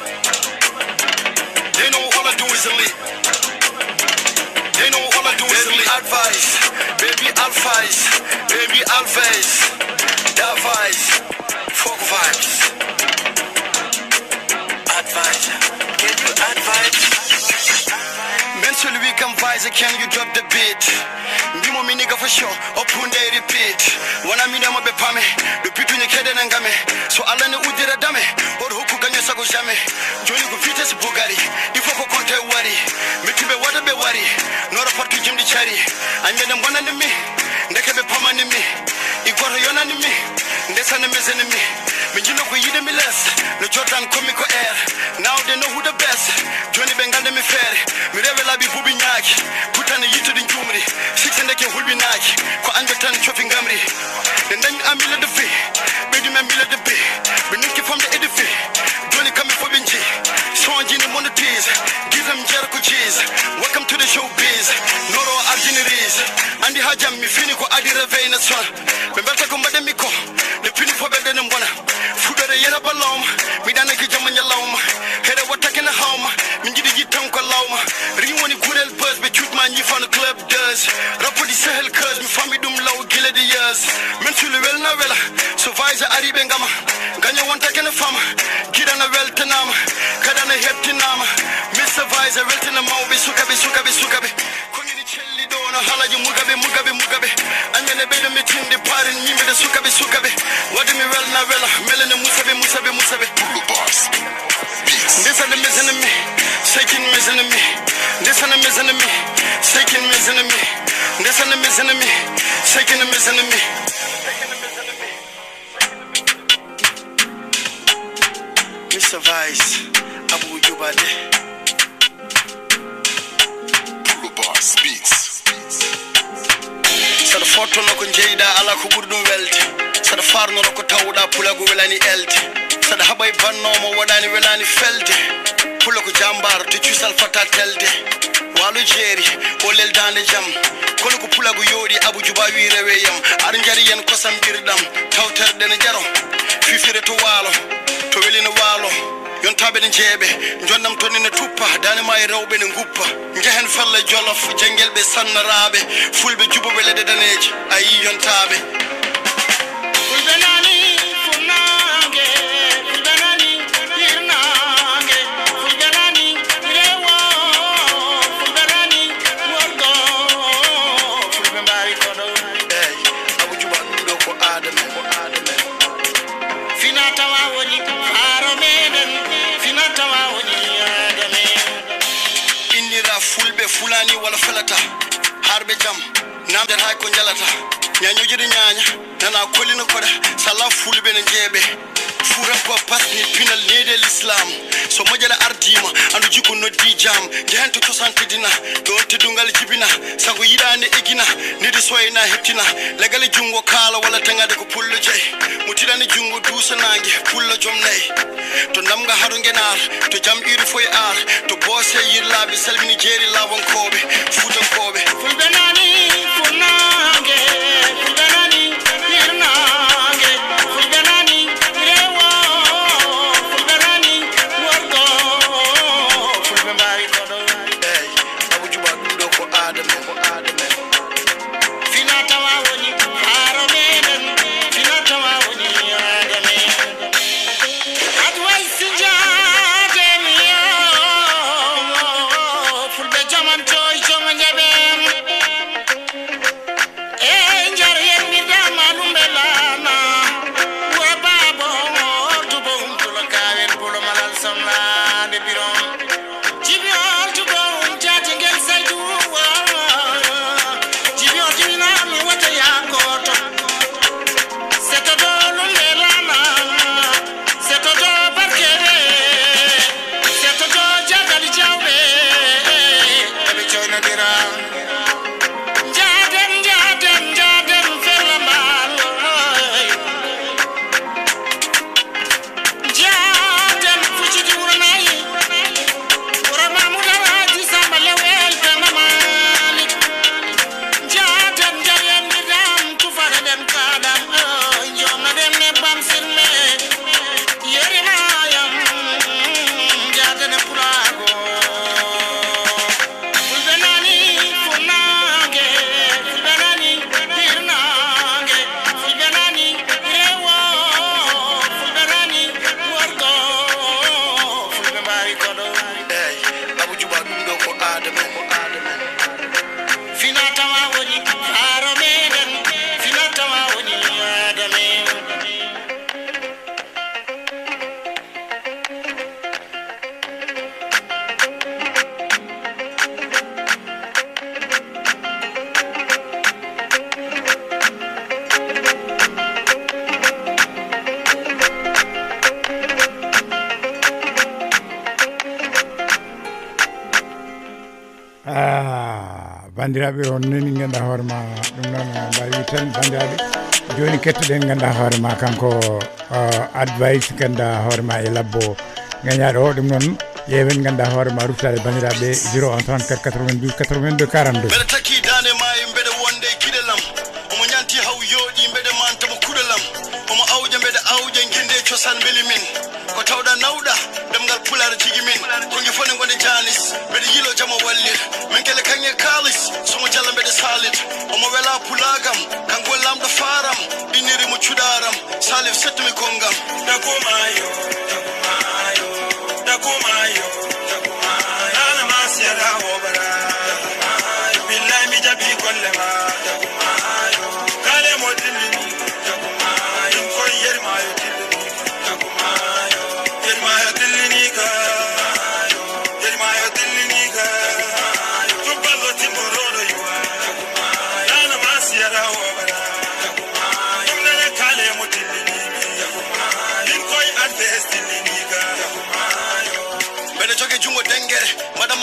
they know all I do is lead they know all I do is lead advice baby advice baby advice advice folk vibes advice can you advise men celui comme vise can you drop the beat ndimo mi nigga for sure upon they repeat wana mi na mabe pame depuis tu ne kede na ngame so ala ne udira dame or hoku ganyo sago jamais joni ko vitesse bugari il faut ko compte wari metibe wada be wari nora partu jimdi chari anje na mbona ni mi ndeke be pama ni mi igoro yona ni mi ndesa na meze ni mi minjino ko yide mi less no Jordan comico air now they know who the best joni be ngande mi fere mi revela bi bubi nyaaki kutane yitu din jumri six ndeke hulbi naaki ko anje tan chofi ngamri den dañ amila de fi be di memila de be be niki from the edifi joni kami fo binji sonji ni monetize give them Jericho cheese welcome to the showbiz noro arginiris andi hajam mi fini ko adi reveil na son be mbata ko mbade mi ko le fini fo be den mbona fudare yera balom mi dana ki jamanya lawma here wata ken hawma mi jidi jitam ko lawma ri woni gurel buzz be chut man yi fan club does rapo di sahel cuz mi fami dum law gile di years men sulu wel na wela so vise aribe ngama ganyo wonta ken fama kidana wel tanama kadana heptinama mister vise wel tanama be suka be suka be suka be ko ni chelli do no halaji mugabe mugabe mugabe anyene be do mitinde pare ni be suka be suka be wadi mi wel na wela melene musabe musabe musabe boss this and the missing me shaking missing me this and the missing me shaking missing me this and the missing me shaking missing me Issa Vice, Abu Jubade. Boss Beats. Sada foto no ko jeyda ala ko burdum welte. Sada farno no ko tawda pulago welani elte. Sada habay banno mo wadani welani felde. Pulago jambar to ciusal fata telde. Walu jeri o lel dande jam. Kono ko pulago yodi Abu Juba wi reweyam. Ar jari yen kosam birdam tawterde ne jaro. Fifire to walo to welina walo. Yontabe ne jebe jonnam tonni ne tuppa dane may rewbe ne nguppa njehen falla jolof jangelbe sannarabe fulbe jubo wele de daneji ayi yontabe fulbe nani funange fulbe nani irnange fulbe nani rewo fulbe nani worgo fulbe mbari kodo ey Abu Juba ndo ko adame ko adame finata wa woni faro meden finata wa woni adame indira fulbe fulani wala felata harbe jam namde hay ko jalata nyanyo jidi nyanya nana kolina koda sala fulbe ne jebe fura ko pasni pinal nede l'islam so mojala ardima andu jiko no di jam jento to sante dina don te dungal jibina sago yidane egina nidi soyna hettina legal jungo kala wala tangade ko pullo jey mutirani jungo dusa nangi pullo jomnay to namga haru ngenar to jam iri foy ar to bose yirlabe salmini jeri lawon kobe fudan kobe fulbe nani funange fulbe nani irnange fulbe nani rewo fulbe nani worgo fulbe mbari kodo ey Abu Juba ndo ko adame ko adame finata wa woni faro meden finata wa woni adame adwai sinjade miyo fulbe jaman toy jonga njabem e njar yen mi dama lumbelana wa babo tubo umtulo kawen pulo malal samla de birom jibiol tubo umtati ngel saydu jibiol jina mi wata yakoto seto do lumbelana seto do barkere seto do jagali jawbe ebe choyna dira jadem jadem jadem felamal jadem fuchidi uranai urama mudara di sambale wel penamali jadem jadem bidam tufara dem kadam jomna dem ne bam sirme yeri mayam jadem pulago fulbe nani funange fulbe nani irnange fulbe nani rewo fulbe nani worgo fulbe mbari kodo ey Abu Juba ndo ko adame ko adame finata wa woni faro meden finata wa woni adame ah bandiraɓe on nani ganduɗa hoore ma ɗum noon mbawi tan bandiraɓe joni kettoɗen ganduɗa hoore ma kanko advice ganduɗa hoore ma e labbo gañaɗo o ɗum noon ƴeewen ganduɗa hoore ma ruttade bandiraɓe zéro un trente-quatre quatre-vingt-douze quatre-vingt-deux quarante-deux Bede taki dane mayi mbede wonde kidelam omo nyanti haw yodi mbede mantamo kudelam omo awje mbede awje ginde ciosan beli min ko tawda nawda demgal pular jigi min ko ngi fone gonde janis mbede yilo jamo wallir min kele kanye kalis somo jalla mbede salit omo wela pulagam kango lamdo faram diniri mo cudaram salif setmi kongam Dakumayo, Dakumayo, Dakumayo, Dakumayo. Ana masira obara. Dakumayo. Billahi mi jabi kollema. Dakumayo. Kale modini. Dakumayo. Ko yermayo dilini. Dakumayo. Yermayo dilini ka. Yermayo dilini ka. Tubalo timorodo yuwa. Dakumayo. Ana masira obara. Dakumayo. Kale modini. Dakumayo.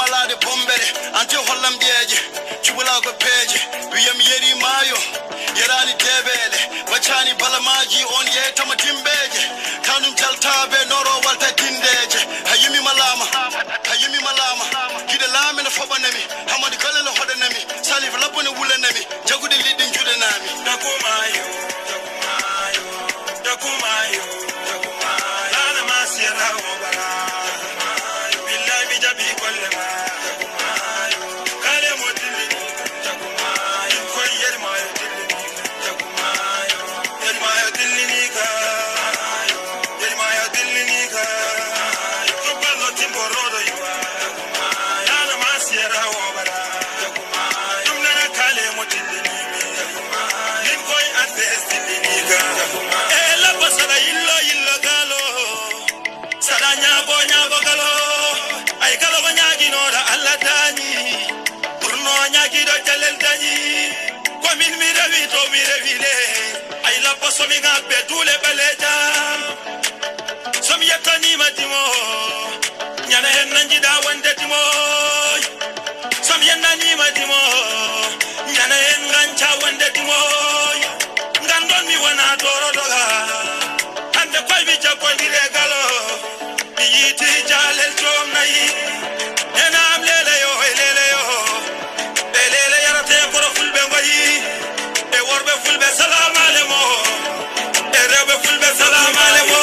walade bombere ante hollam bieje chubula go peje wiyam yeri mayo yerani debele wachani balamaji on ye tama timbeje tanum jaltabe noro walta tindeje hayimi malama hayimi malama gide lame na fobanami hamadi kala la hodanami salif labone wulanami jagudi lidin judanami dakumayo dakumayo dakumayo dakumayo ana masira obara dakumayo billahi bijabi kollema dakumayo kale modili dakumayo ko yermayo dilini dakumayo yermayo dilini ka yermayo dilini ka to ballo timborodo yuwa dakumayo ana masira obara dakumayo dumna kale modili dakumayo ko advest dilini ka eh la pasada illo illo galo sada nyago nyago galo ay galo banyagi no da Allah tani burno nyagi do jalel tani ko min mi rewi to mi rewi le ay la paso mi gabe dule beleja som yetani matimo nyana hen nanji da wande timo som yenani matimo nyana hen gancha wande timo ngandon mi wana doro doga ande koy bi jakondire galo bi yiti jalel tom nayi enam lele yo lele yo lele yarate ko fulbe ngoyi e worbe fulbe salam alemo e rebe fulbe salam alemo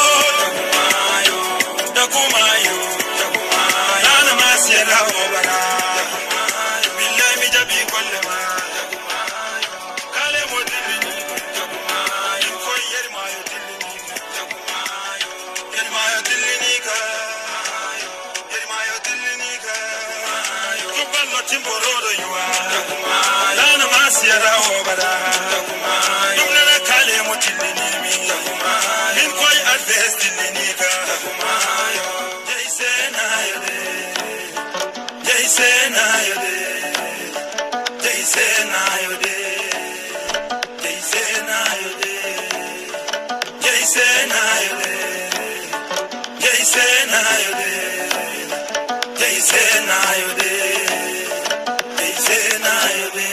dakumayo dakumayo ana masira obara billahi mi jabi kollema kale modini dakumayo ko yermayo dilini dakumayo yermayo dilini ka yermayo dilini ka to ballo timborodo yuwa dakumayo ana masira obara dakumayo dumna kale modini mi dakumayo min koy advest dilini ka dakumayo jaisena yode jaisena yode jaisena yode jaisena yode jaisena yode jaisena yode jaisena yode jaisena yode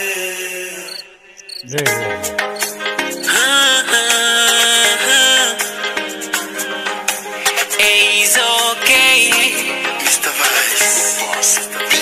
It's okay. Mister Vice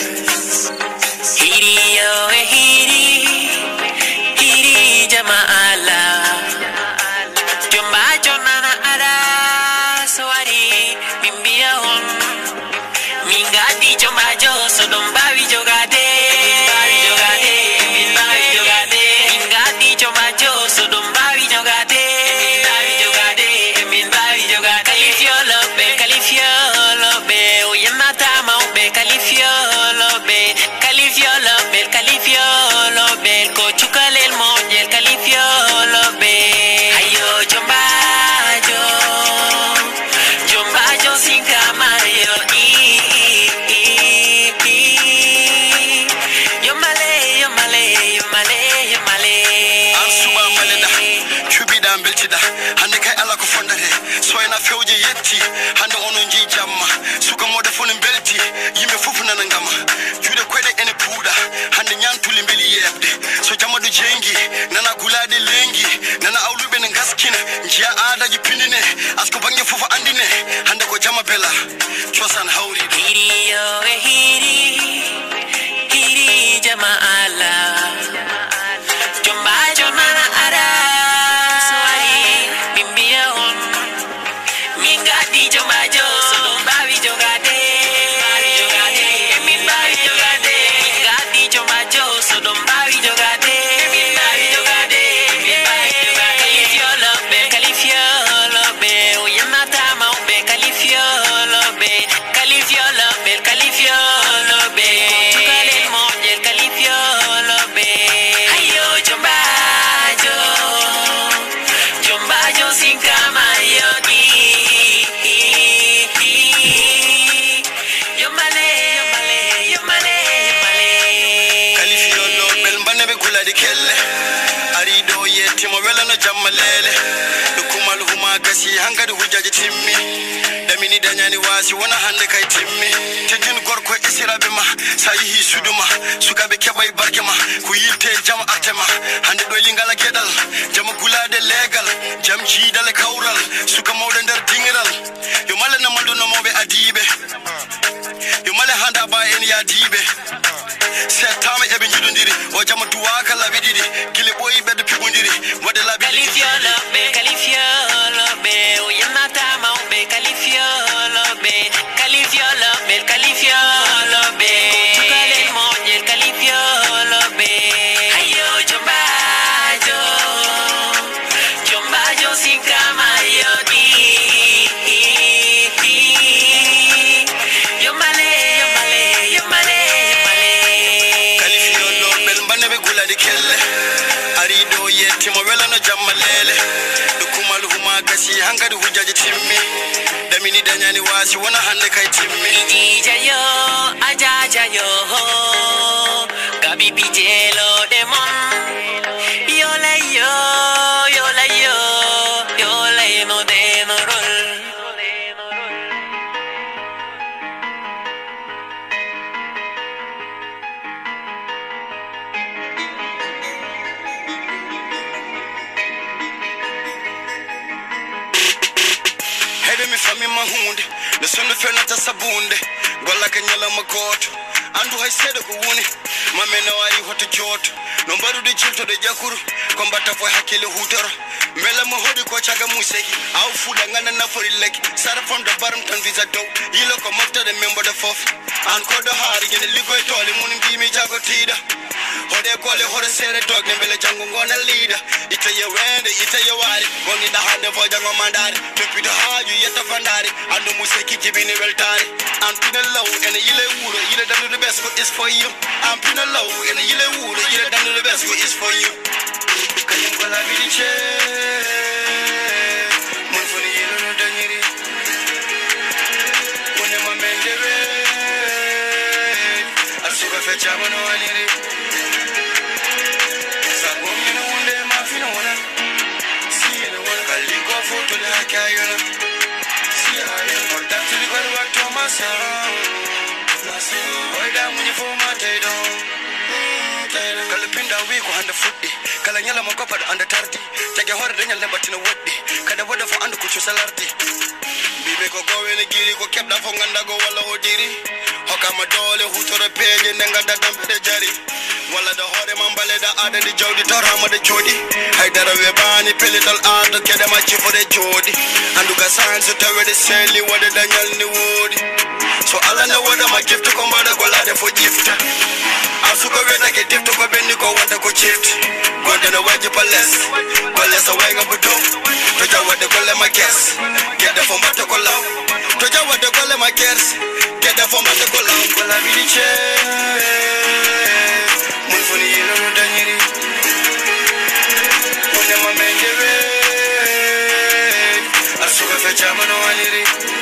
Hiri yo e hiri, hiri jamaala. Jomba jonana ara swari bimbia hon. Mingadi jomba jo sodomba vi jogade, bavi jogade, bavi jogade. Mingadi jomba jo sodomba vi jogade, bavi jogade, bavi jogade. Kalifio lobe, kalifio lobe, oyemata maube, kalifio lobe, kalifio lobe, kalifio lobe, kochukale el monje, kalifio lobe. Ayo jomba jo, jomba jo sin camayo, i i i. Yo male, yo male, yo male, yo male. Ansuba maleda chubida mbeltida hande kay ala ko fondate soyna fewje yetti hande onon ji jamma suka mode fon belti yimbe fofu nana ngama jude koyde ene puuda hande nyantuli mbeli yebde so jamadu jengi nana gulade lengi nana awlube ne gaskina jiya aadaji pindine asko bangi fofu andine hande ko jama bela chosan hawri Hiri yo e hiri, hiri jamaala. Jomba jonana ara swari bimbia hon. Mingadi jomba jo sodomba vi jogade, bavi jogade, min bavi jogade. Mingadi jomba jo sodomba vi jogade, min bavi jogade, min bavi jogade. Kalifio lobe, kalifio lobe, oyemata maube, kalifio lobe, kalifio lobe, kalifio lobe. Chukale el monje, kalifio lobe. Ayo jomba jo, jomba jo sin camayo, i i i. Yo male, yo male, yo male, yo male. kalifio lo bel mbane be gulade kelle arido yetti mo wela no jamma lele dukumal huma gasi hangade hujjaji timmi damini danyani wasi wona hande kay timmi tekin gorko is sirabe ma sayi suduma sukabe kebay barkema ku yilte jama artema hande do lingala kedal jama gulade legal jam jidale kawral suka mawde der dingiral yo male na maldo no mobe adibe yo male handa ba en ya dibe setama ebe jidondiri o jama duwa kala bididi gile boy bedde pigondiri wode la bididi kalifiolo be kalifiolo be o yamata ma be kalifiolo be kalifiolo be kalifiolo be tukale mo je kalifiolo be ayo jombajo jombajo sinkama yodi yomale yomale yomale kalifiolo bel mbane be guladi kelle arido yetti mo welano jammalele dukumal huma gasi hangadi hujaji timmi damini danyani wasi wona hande kay timmi jijayo ajajayo gabi bijelo demon yola yo yola yo yola no de no rol mi fami mahunde le sono fenata sabunde golla kanyala makoto andu hay sedo ko woni mamena wari hoto joto no barude cilto de jakuru kombata fo hakile hutoro mela mo hodi ko caga museki aw fuda ngana nafori leki sara fam do baram tan visa dow yilo ko mofta de membo de fof an ko do haari gene ligoy tole mun mbimi jago tida hode kole hore sere dog ne bele jango ngona leader ite ye wende ite ye wari goni da hande fo jango mandari depuis de haaju yetta fandari andu museki jibini weltari am pina low and yile wuro yile dando the best is for you am pina low and yile wuro yile dando the best is for you kayem ko la biche mun foni yelo no danyiri wona mamende we asuka fe chama no aniri Kayona, see I am on that to the good work to myself. Why down when you for my day down? Kalapinda week on the footy, Kalanyala Mokopa under thirty. Take a hard Daniel Nebatina Woody, Kada weather for under Kuchu Salarti. Bibeko go in a giri, go kept up on Gandago Walla Odiri. Hokamadole, who to the page and then got that dump the jerry. Walla the Hore Mambale, the other the Jody Torama the Jody. I did a Webani, Pelital art to get a match for the Jody. And look at signs to tell the Sally, what the Daniel in the wood. So all I know what I'm a gift to come out of Golade for gift. I suka wena ke gift to go Bendigo, what the go chipped. Go to the wedge palace, palace away up with them. To tell what they call my guess. Get the phone, but to call out. To tell what they call my guess. Get the phone, but to call out. Call a village. Munfuni yelo no danyiri Wone mamende we Asuka fe chama no aniri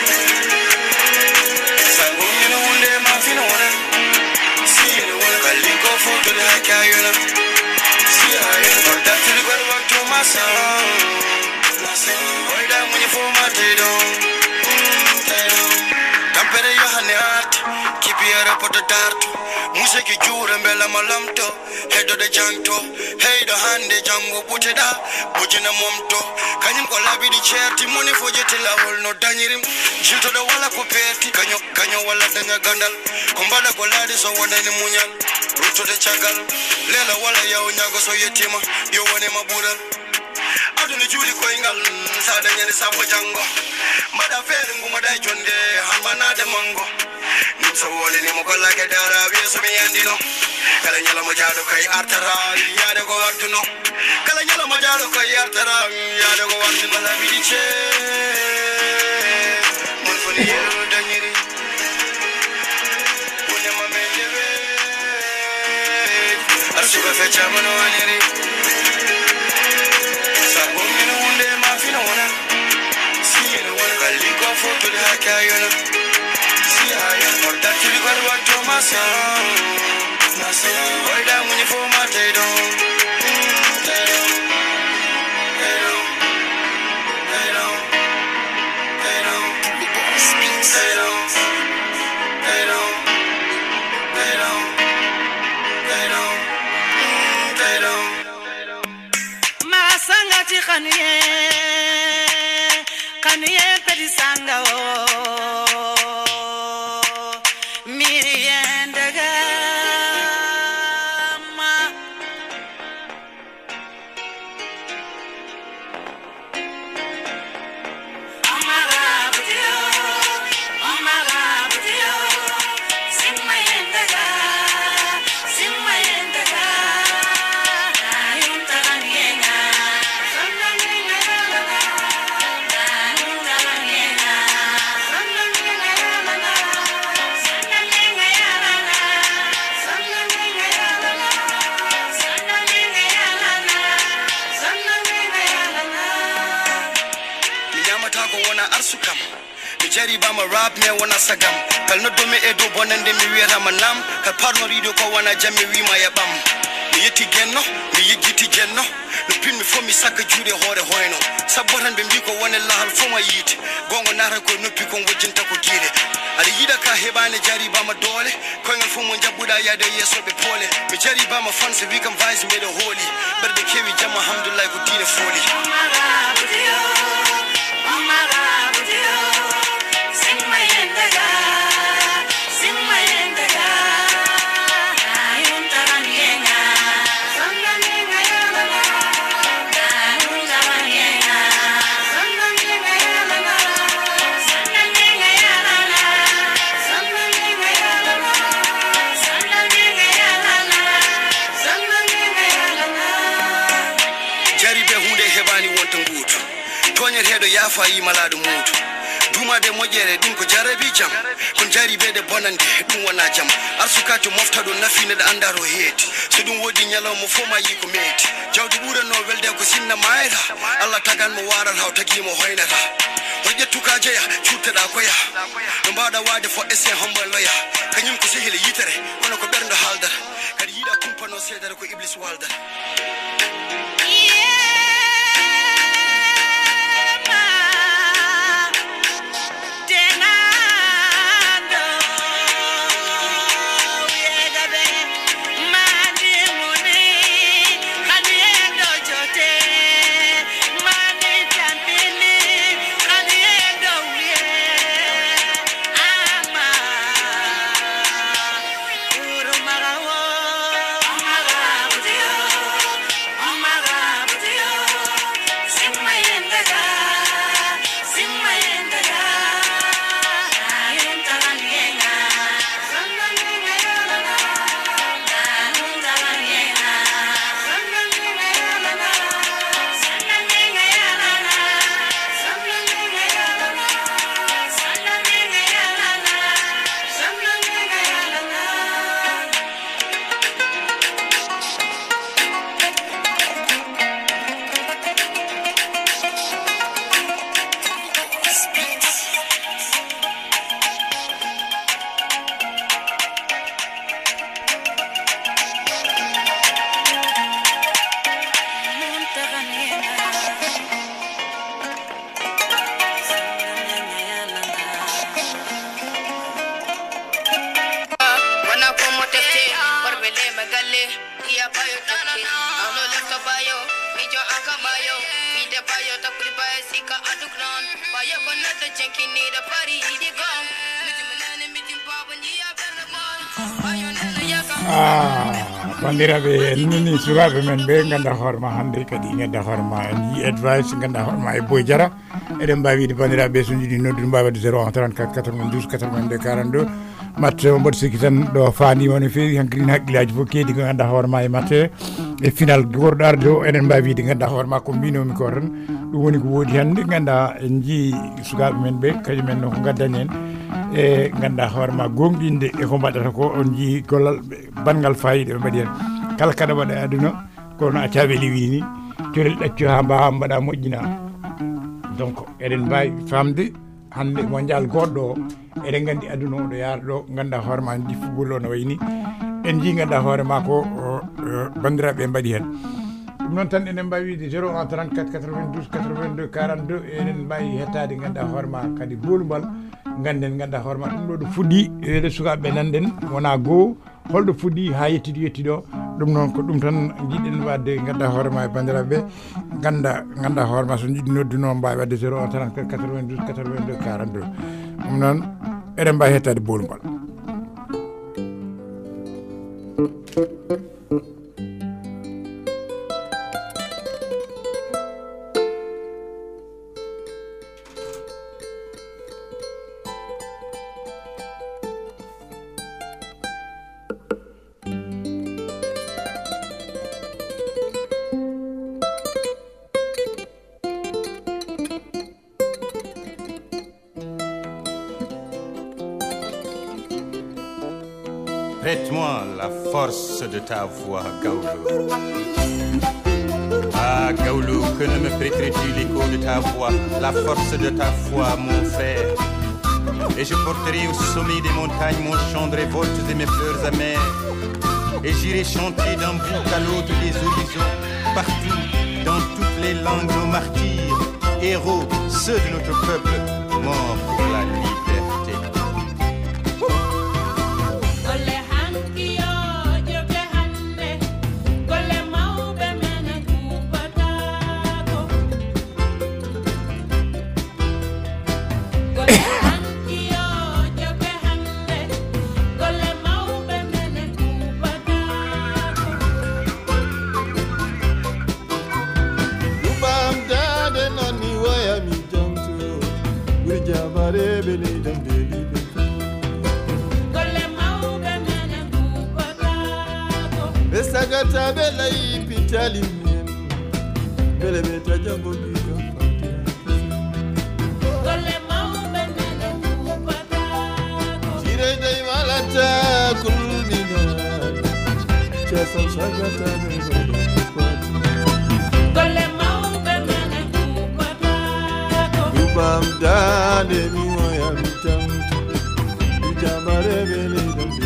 Sangumi no unde mafino wana See no one kaliko foto de hakayona See I am that to the good work to my son Why da when you for my tedo Tampere yo hane art Keep your up the dart Museki jura mbela malamto Hedo de janto Heido hande jango buteda Bujina momto Kanyim ko labi di cherti Muni fojeti la hol no danyirim Jilto de wala kupeti Kanyo kanyo wala danya gandal Kumbada ko ladi so wanda ni munyal Ruto de chagal Lela wala ya unyago so yetima Yo wane mabural Adu ni juli ko ingal Sada nyani sabo jango Mada feri ngumada jonde Hambana de mango So wole ni mo kolla ke dara wi so mi andino kala nyala mo jaado kay artara yaade ko wartuno kala nyala mo jaado kay artara yaade ko wartuno la bi dice mon foni yelo danyiri wone ma mendebe arsuka fe chamano aniri sa bomino wonde ma fino wona si no wona kali ko foto de hakayona I am for that to the good work to myself. Why down when you for my day down? Day down, day down, day down, day down, day down, day down, jari ba ma rap me wana sagam kal no do me e do bonande mi wieta ma nam kal parno rido ko wana jamme wi ma ya bam mi yetti genno mi yigiti genno no pin mi fo mi sakka juude hoore hoyno sabbotan be mbi ko wona lahal fo ma yiti gongo nata ko noppi kon wajjinta ko giire ali yida ka hebane jari ba ma dole ko ngal fo mo jabbuda yaade yeso be pole mi jari ba ma fanse wi kam vice me do holy berde kewi jam alhamdulillah ko diine foli hedo yafa yi maladu mutu duma de mojere dum ko jarabi jam kon jari be de bonande dum wona jam arsukatu moftado nafine da andaro heeti so dum wodi nyalo mo foma yi ko meti jawdi bura no welde ko sinna mayra Allah tagan mo waral haw tagi mo hoynata hoje tukaje ya cutada koya no bada wade fo ese hombal loya kanyum ko sehile yitere kono ko berndo haldar kadi yida kumpano sedare ko iblis waldar bandiraɓe nini sukaɓe men ɓe ganda hoorema hannde kadi gadda hoorema en yi advice ganda hoorema e Boy Diarra eɗen mbawi wide bandiraɓe so jiiɗi noddude mbawi wadde zéro un trente-quatre quatre-vingt-douze quatre-vingt-deux quarante-deux matte o mboɗo sikki tan ɗo fandima no fewi hankkadine haqqillaji fof keedi ko ganda hoorema e matte e final gorɗo arde o eɗen mbawi wide ganda hoorema ko mbinomi ko tan ɗum woni ko woodi hannde ganda en jii sukaɓe men ɓe kañumen no ko gaddani en e ganda hoorema gonɗinde e ko mbaɗata ko on jii gollal bangal fayida ɓe mbaɗi hen kala kaɗa waɗa e aduna kono a caɓeli wini torel ɗacco ha mbawa mbaɗa moƴƴina donc eɗen mbawi famde hande mondial goɗɗo o eɗen gandi aduna o ɗo yaara ɗo ganda hoorema diffugol o no wayni en jii ganda hoorema ko bandiraɓe mbaɗi hen ɗum noon tan enen mbawi wiide zéro un trente-quatre quatre-vingt-douze quatre-vingt-deux quarante-deux eɗen mbawi hettade ganda hoorema kadi bolumbal ganden ganda hoorema ɗum ɗo ɗo fuɗɗi ele sukaɓeɓe nanden wona goho holɗo fuɗɗi ha yettiɗo yettiɗo ɗum noon ko ɗum tan jiɗɗen wadde ganda hoorema e bandiraɓeɓe ganda ganda hoorema so jiɗi nodduno mbawi wadde zéro un trente-quatre quatre-vingt-douze quatre-vingt-deux quarante-deux ɗum noon eɗen mbawi hettade bolumbal. Prête-moi la force de ta voix, Gaoulou. Ah, Gaoulou, que ne me prêterais-tu l'écho de ta voix, la force de ta foi, mon frère. Et je porterai au sommet des montagnes mon chant de révolte et mes fleurs amères. Et j'irai chanter d'un bout à l'autre des horizons, partout, dans toutes les langues, nos martyrs, héros, ceux de notre peuple, morts pour la liberté. Sagata bela ipitali mien bele beta jambo bika gole mau benene kupata jire dai malata kulmina chesa sagata bela gole mau benene kupata ubam dade mi waya mitam jamare bele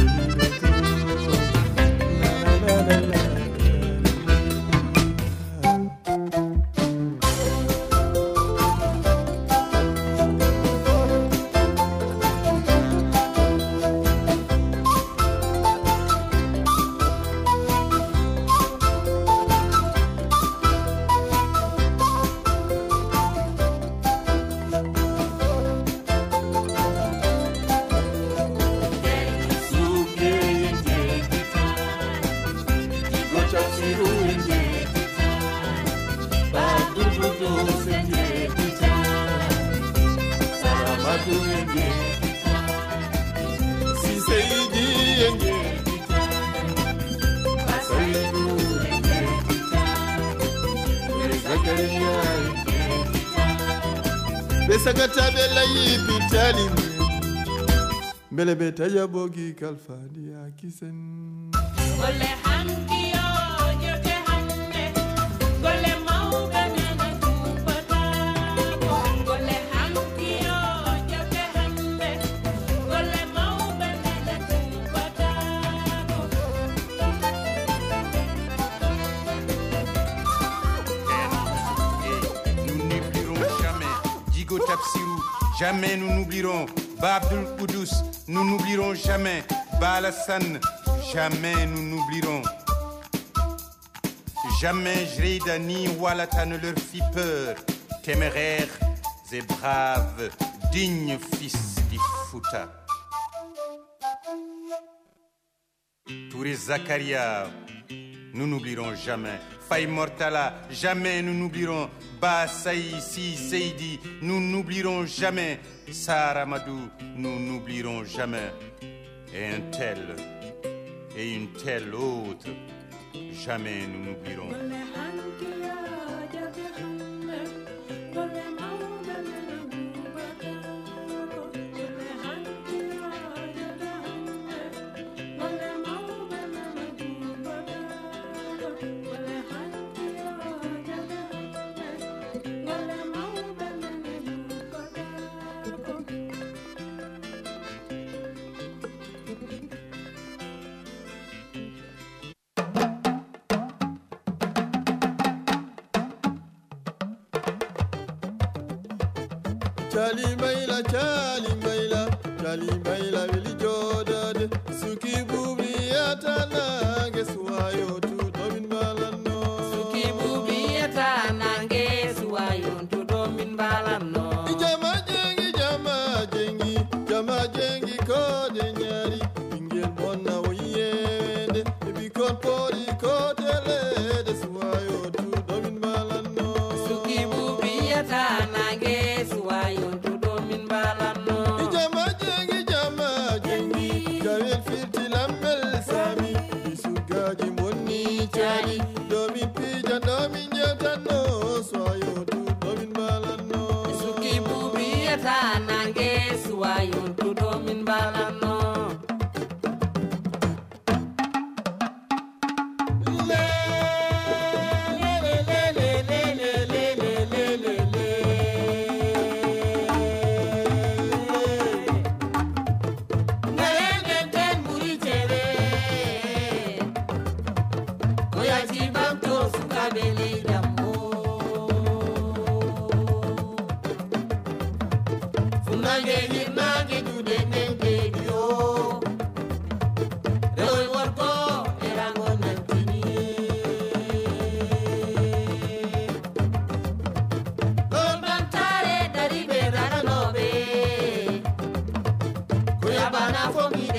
Besagata bela yipitali bele beta yabogi kalfadi akisen Gole hanki yo yoke hanne Gole mau benene kupata Gole hanki yo yoke hanne Gole mau benene kupata Nous n'oublierons jamais Digo Tapsirou, jamais nous n'oublierons Babdul Koudous, nous n'oublierons jamais Balasan, jamais nous n'oublierons. Jamais Jreda ni Walata ne leur fit peur. Téméraires et braves, dignes fils d'Ifouta. Touré Zakaria, nous n'oublierons jamais. Faye Mortala, jamais nous n'oublierons. Ba Saïsi Seidi, nous n'oublierons jamais. Saramadou, nous n'oublierons jamais. Et un tel, et une telle autre, jamais nous n'oublierons. Chali Maila, Chali Maila, Chali Maila, Willie Jordan, Suki Bubiata, guess why you to Domin Balano? Suki Bubiata, guess why you to Domin Balano? Jama Jengi, Jama Jengi, Jama Jengi, Codenyari, Ingel Bona, Wayende, if you call Pori, Codele, that's why you to Domin Balano. Suki Bubiata, guess why you to Domin Balano? Jama Jengi, Jama Jengi, Gavel Fifty Lambel Sami, Isugaji Moni Chari, Domin Pija, Domin Yatano, so you to Domin Balano. Suki Bubiata, guess why you to Domin Balano?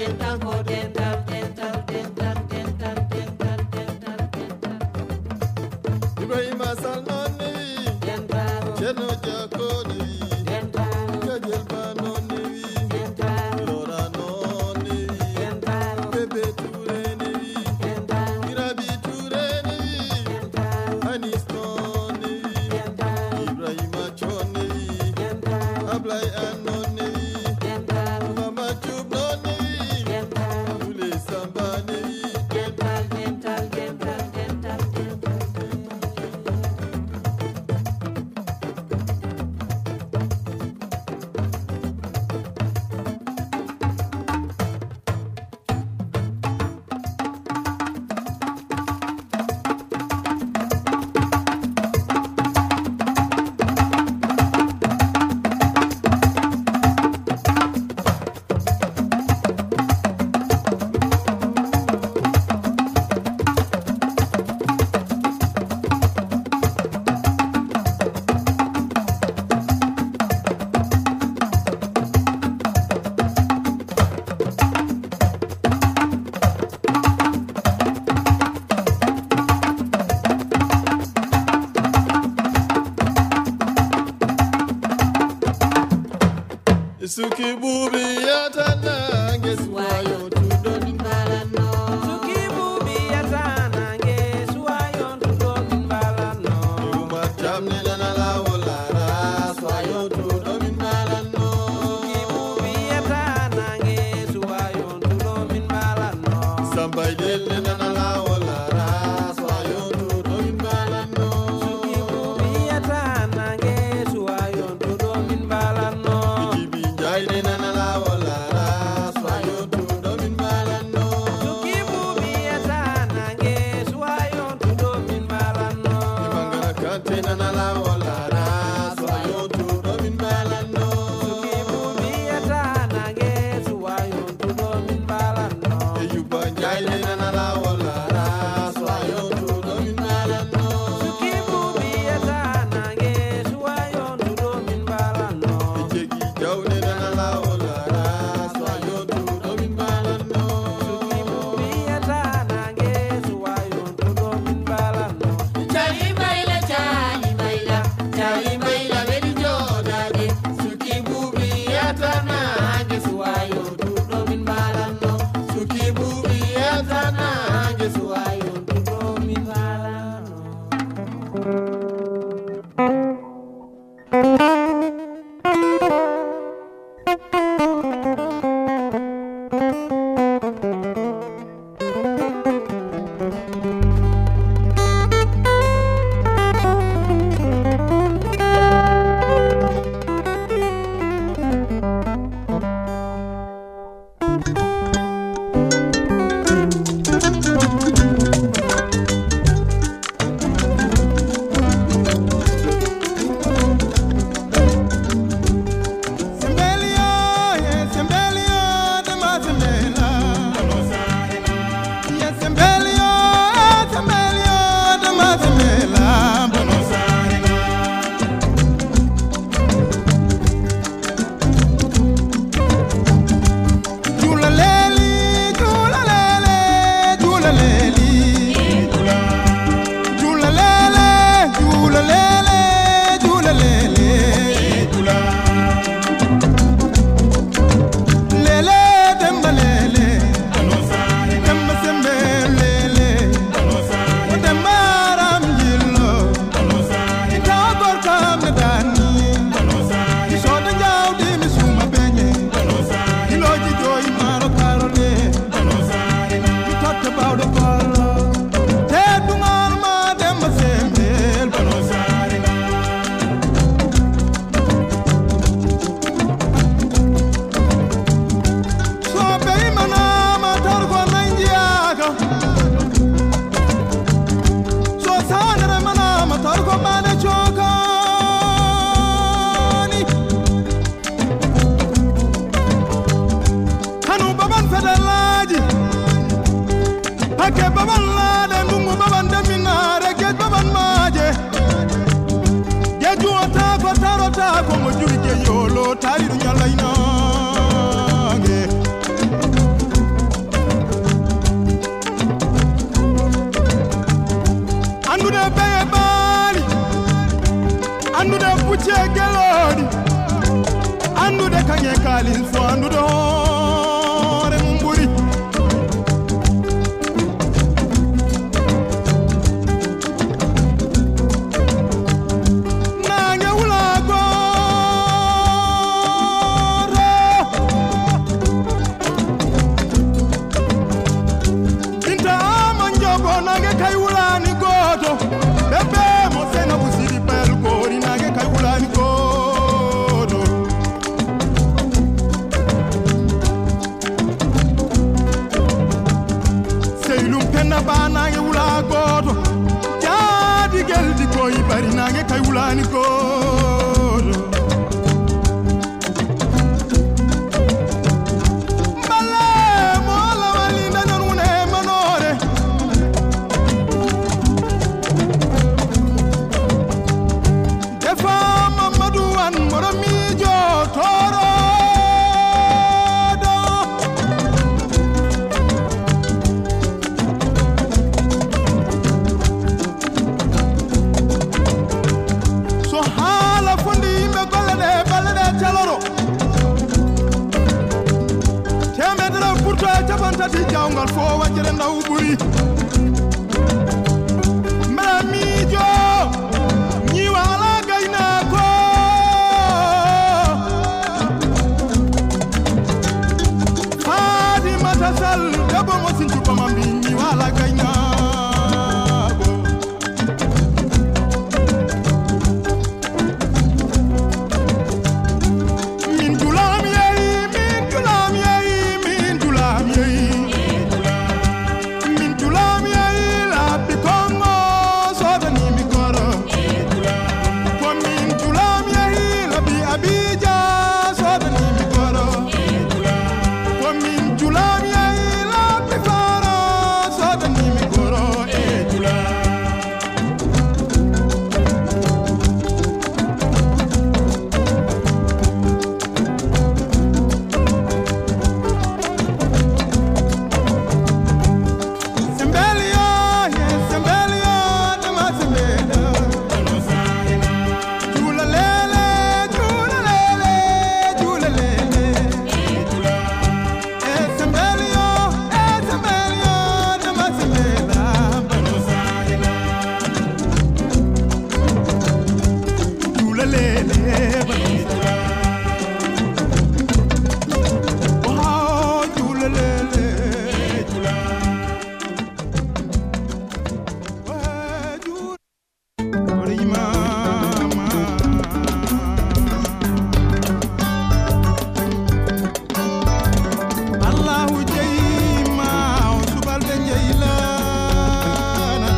dental ko dental dental dental dental dental dental dental Ibrahima Sall non newi dental Cerno Jako newi dental Kajel Ba non newi dental Lora non newi dental Bébé Touré newi dental Irabi Touré newi dental Anis non newi dental Ibrahima Chon newi dental Ablay An non newi dental Mama Diop non newi dental Moulé Samba newi dental dental dental dental dental Suki bubi yatana ngeswayo tudo min balano Suki bubi yatana ngeswayo tudo min balano Uma jamne nana la wolara swayo tudo min balano Suki bubi yatana ngeswayo tudo min balano Sambay delle nana la wolara swayo tudo min balano Suki bubi yatana ngeswayo tudo min balano Bibi jayde nana la wolara swayo tudo min balano Suki bubi yatana ngeswayo tudo min balano Imangara kante nana la wolara swayo tudo min balano Suki bubi yatana ngeswayo tudo min balano Eyuba jayde nana la wolara swayo tudo min balano Suki bubi yatana ngeswayo tudo min balano Jegi jawne nana la wolara swayo tudo min balano Suki bubi yatana ngeswayo tudo min balano Chali maila chali maila chali maila bedi jodade Suki bubi yatana ngeswayo tudo min balano Suki bubi yatana ngeswayo tudo min balano Sembelio, yeah, sembelio, de más sembela. Yeah, sembelio, yeah, sembelio, de más sembela. Jula leli, jula lele, jula leli. Jula lele, jula lele, jula lele. Lele demba lele, demba sembe lele, o demba ram jillo, ita gorka me dani, iso de jaw di mi suma benye, iloji joy maro karole, we talked about the color, te dungar ma demba sembe, so be mana ma tar ko nanjiaga, so sanere mana ma tar ko mane chokani, hanu baban fedalaji, hake baban lade ndungu baban deminare ke baban maje, ye juota ko tarota ko mo jurije yolo tari nyalaina ge. halin so andude hoore mum ɓuri nange wula gooro binta ama jogo nange kay wulani gooto bebe mo sena busidi pel gori nange kay wulani gooto seylum penna ba nange wula gooto jaadi geldi koy bari nange kay wulani gooto balle mo la wali danon wune manore defa mamadou an moromijo toro so hala fondi yimɓe golle ɗe balle ɗe caloro temedere pourto e capan tati jawgal fo wajjere ndaw ɓuri mbeɗa miijo ñiwa ala gaynako Fatimata Sall debbo mo sincuɓama mbi ñiwa ala gaynako min julam yeyi min julam yeyi min julam yeyi min julam yeyi labbi kongo sodanimi koro ko min julam yeyi labbi abija sodanimi koro ko min julam yeyi labbi faro sodanimi koro e julam Sembelio, yeah, Sembelio, dama Sembelio. Jula lele, jula lele, jula lele. Eh, Sembelio, eh, Sembelio, dama Sembelio. Jula lele, oh, jula lele, jula. Allahu jeyma o subalɓe jeylana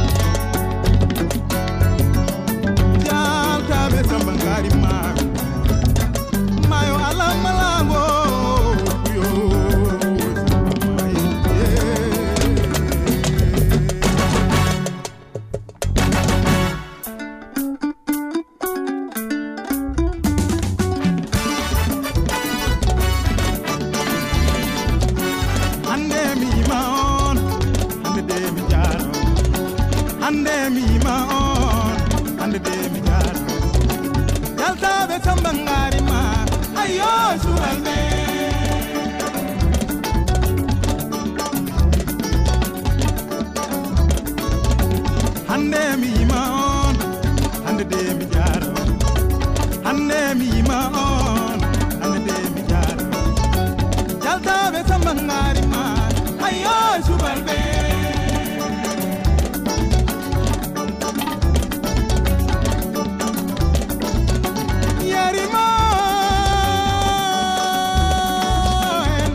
jaltaɓe samba ngari mayo mayo alamalago yo hande mi yima on hande de mi jaro hande mi yima on hande de mi jaro jaltaɓe samba ngari ma ayo subalɓe hande mi yima on hande de mi jaro hande mi yima on hande de mi jaro jaltaɓe samba ngari ma ayo subalɓe yarima en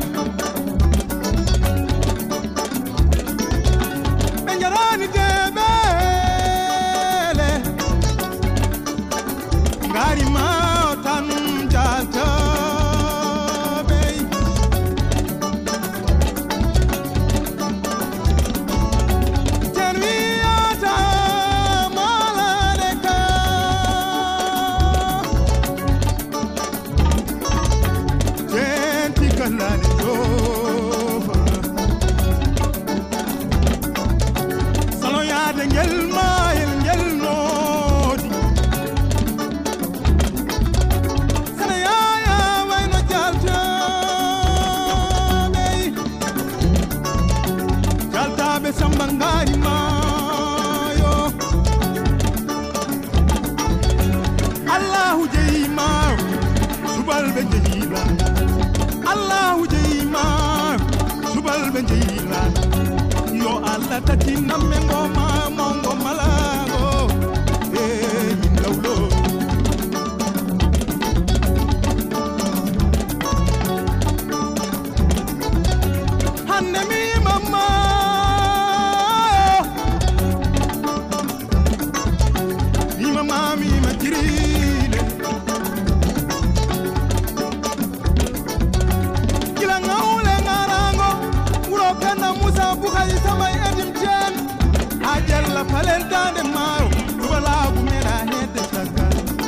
ɓe jarani deɓele ngari ma o tan jaltaɓe ten wiyata malade ka ten tikallani jofa saloyade ngel mayel ngel noodi sana yaya wayno jalta ɓe jeyilana yo allah tati namme ngoma mongo malago e min gawlo hande mi mamma mi mamma mi ma jirile kila ngawle ngarango wuro kana musa bukhari samay edim jen ajella palentande mayo wala bu mera hede saka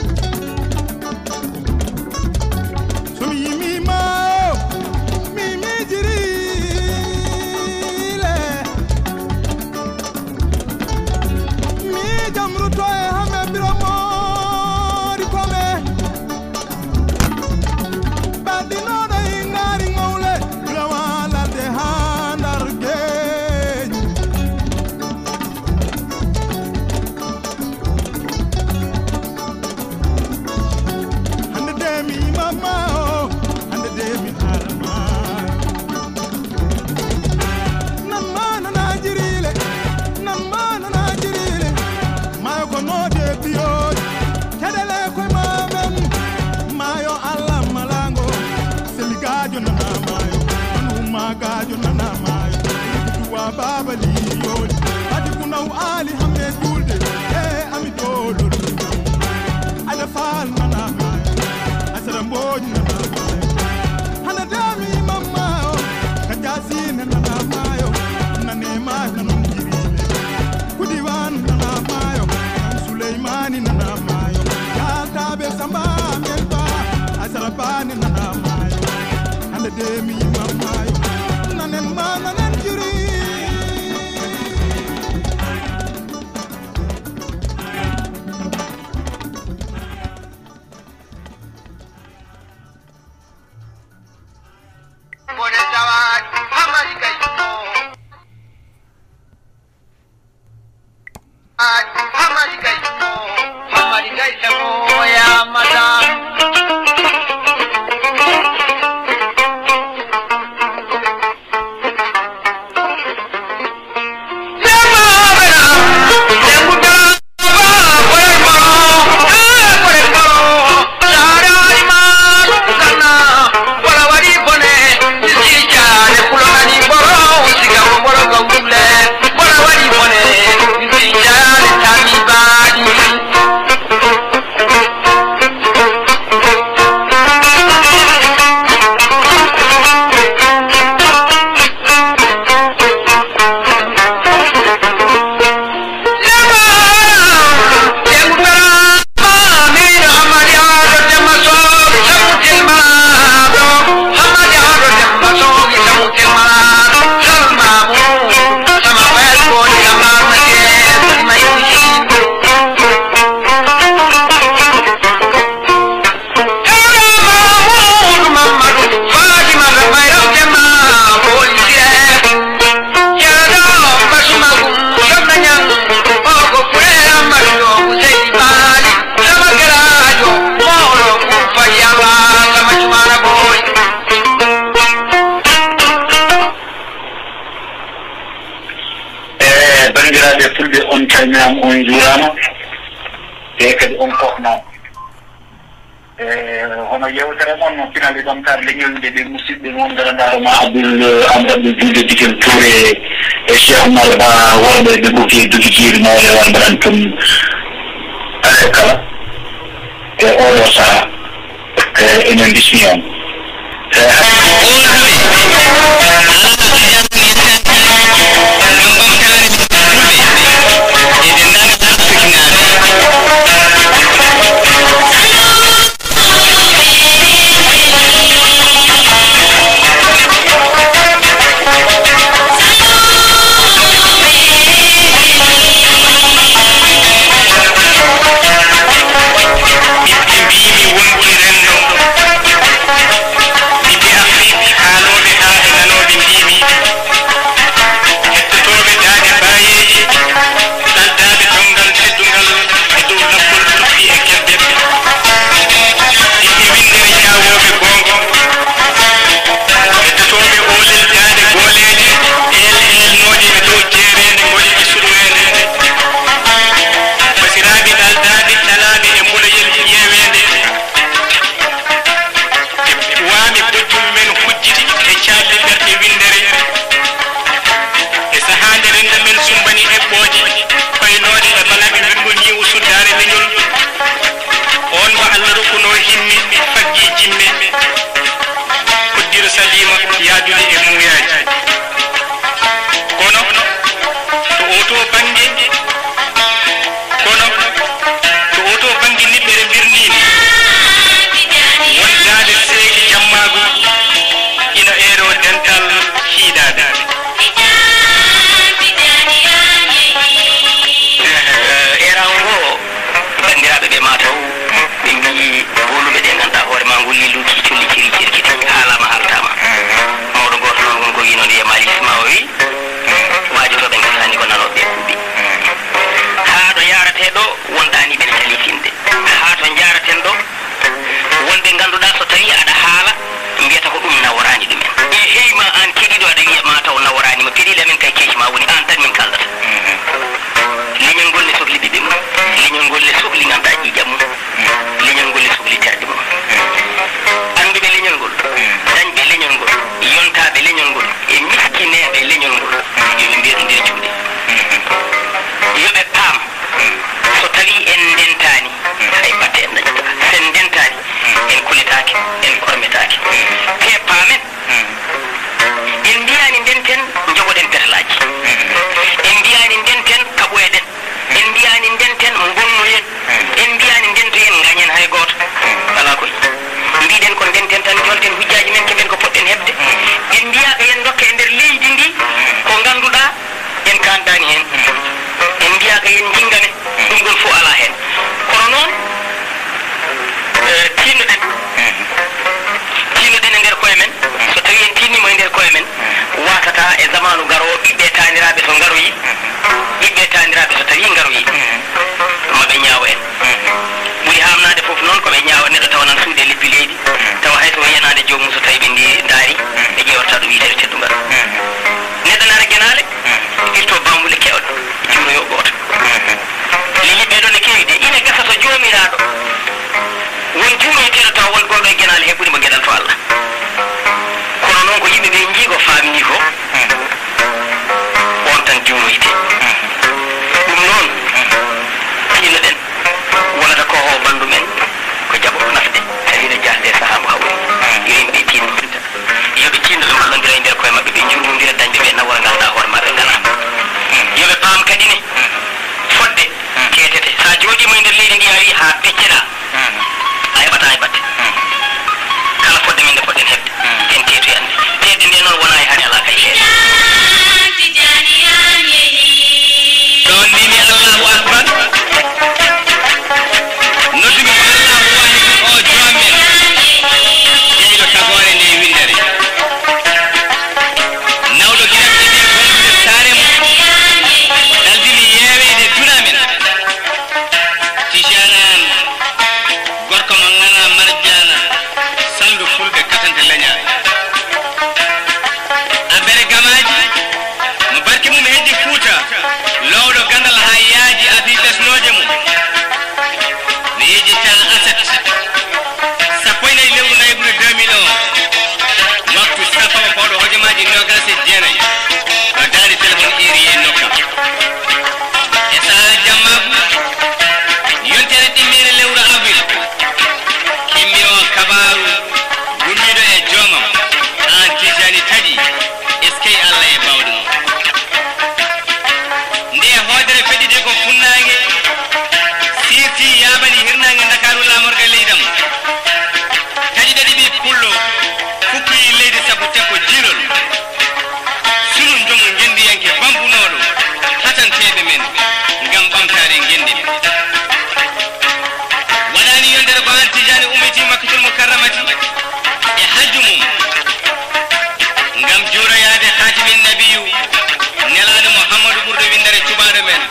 sumi yimi mayo mi mi jirile mi jamru to e hame biromo di kome badino da ingari ngawle lawala de handar geñ hande de mi mama o hande de mi harama nan mana na jirile nan mana na jirile mayo ko no de biyo kedele ko mamem mayo allah malango seligajo nana mayo anu magajo nana mayo tuwa baba liyo adi kunaw ali hamme dulde e ami dolo ada fal nana mayo asara mboj nana mayo hana dami mama o kajasi nana mayo nane mayo nanon jirile kudiwan nana mayo suleimani nana mayo yaltabe samba melba asara bani nana mayo hande demi mama yo nanen ma nanen jiri Bone tawat hamari gayo at hamari gayo hamari gayo ya madam calminama on juurama e kadi on fofnama e hono yewtere moon no finali ɗon kar leñolde ɓe musidɓe moon garandaroma abdoul amadou abdoul juude dikel touré e cheikh oumar ba worɓe ɓe ɓoki dogitiri mawle warbaran tum ale kala e oɗo saaha e enen bismi on Be yaajude e muuyaji kono to oto bange kono to oto bange niɓɓere birnini wondade seeki jammagu ina eero dental hiidade eran ngo bandiraɓe ɓe mataw ɓe mbi woluɓe ɗe ganduɗa hoore ma ngolli luki colli ciri cirkiti haalama haltama mawɗo goto noon won ko wi noon wiya malisma o wi wajotoɓe gasani ko nanoɓe kuuɓi haa ɗo yarateɗo wonɗani ɓene talitinde haa to jaraten ɗo wonɓe ganduɗa so tawi aɗa haala mbiyata ko ɗum naworani ɗumen e heyma an keɗiɗo aɗa wiya mataw naworanima peɗiɗi amen kay keeci ma woni an tan min kaldata leñol ngol ne sohli ɓiɓe mum leñol ngol ne sohli ganduɗa ƴiƴam mum leñol ngol ne sohli terɗe mum anduɓe leñol ngol dañɓe leñol ngol yontaɓe leñol ngol e miskineɓe leñol ngol yoɓe mbiya ɗum nder juuɗe yoɓe paam so tawi en ndentani hay batte en dañata sen ndentani en kulitaki en kormetaki te paamen en mbiyani ndenten jogoɗen petalaji en mbiyani ndenten kaɓoyeɗen en mbiyani ndenten gonnoyen en mbiyani ndentoyen gañen hay goto ala koy mbiɗen ko ndenten tan jolten hujjaji men keɓen ko poɗɗen hebde en mbiyaka yen dokka e nder leydi ndi ko ganduɗa en kandani hen en mbiyaka yen jingane ɗum ɗon fof ala hen kono noon tinnoɗen tinnoɗen e nder koye men so tawi en tinnimo e nder koye men watata e zamanu garowo ɓiɓɓe taniraɓe so garoyi ɓiɓɓe taniraɓe so tawi garoyi maɓe ñaawa en ɓuuri hamnade foof noon koɓe ñaawa neɗɗo tawa nan suude leppi leydi tawa hayso yanade jomum so tawi ɓe ndi daari ɓe ƴewarta ɗum yitere teddugal neɗɗo nara guenale irto bambule kewɗe juuroyo goto li yimɓe ɗo ne kewi de ina gasa so jomiraɗo won juuroyteɗo tawa won goɗo e guenale heɓɓude mo gueɗal to Allah kono noon ko yimɓe ɓe jiigo famini ko on tan juuroyte ɗum noon tinoɗen wonata ko ho bandu men ko jaɓo nafde tawino jasde saaha mo hawri yo yimɓe tinno yoɓe tinno ɓe wallodira e nder koye mabɓe ɓe jurmodira dañde ɓe nawora ganduɗa hoore maɓe ngala yoɓe paam kadi ne fodde ketete sa jooɗima e nder leydi ndi a wi ha pecceɗa a heɓata e batte kala fodde men nde poɗɗen hebde en teetoy ande teede nde noon wona e hari ala kay heede ɗon mbimi allahu akbar nodduɓe ko allahu wahidun o joomen jeyɗo tagore nde windere nawɗo giɗamɗe nde gonɗude saare mum daldini yeewede duna men tijanan gorko mo ngana marjana saldu fulɓe katante leñaare abere gamaji mo barke mum heddi fuuta lowɗo gandal ha yaaji abi ɓesnoje mum mi yeji tan aset sappo e nayi lewru nayɓude deux mille un waktu sappo pawɗo hojomaji nogas e jeenayi ɗo daari téléphone iri e nokka e saha jammagu yontere ɗimmere lewru avril kimmi o kabaru gummiɗo e joomam an tijani taƴi eskey allah e bawɗo mum nde hoodere feɗɗide ko funnangue sirti yabani hirnangue dakaru lamorga leydam taƴi ɗaɗi ɓi pullo fukkoyi leydi sabu tekko jirol sunu jomu gendiyanke bambunoɗo hatanteɓe men gam ɓamtare gendi men waɗani yondere ko an tijani ummiti makkatul mukarramati e hajju mum gam juuroyade hatimin nabiyu nelaɗo mouhammadou ɓurɗo windere cuɓaɗo men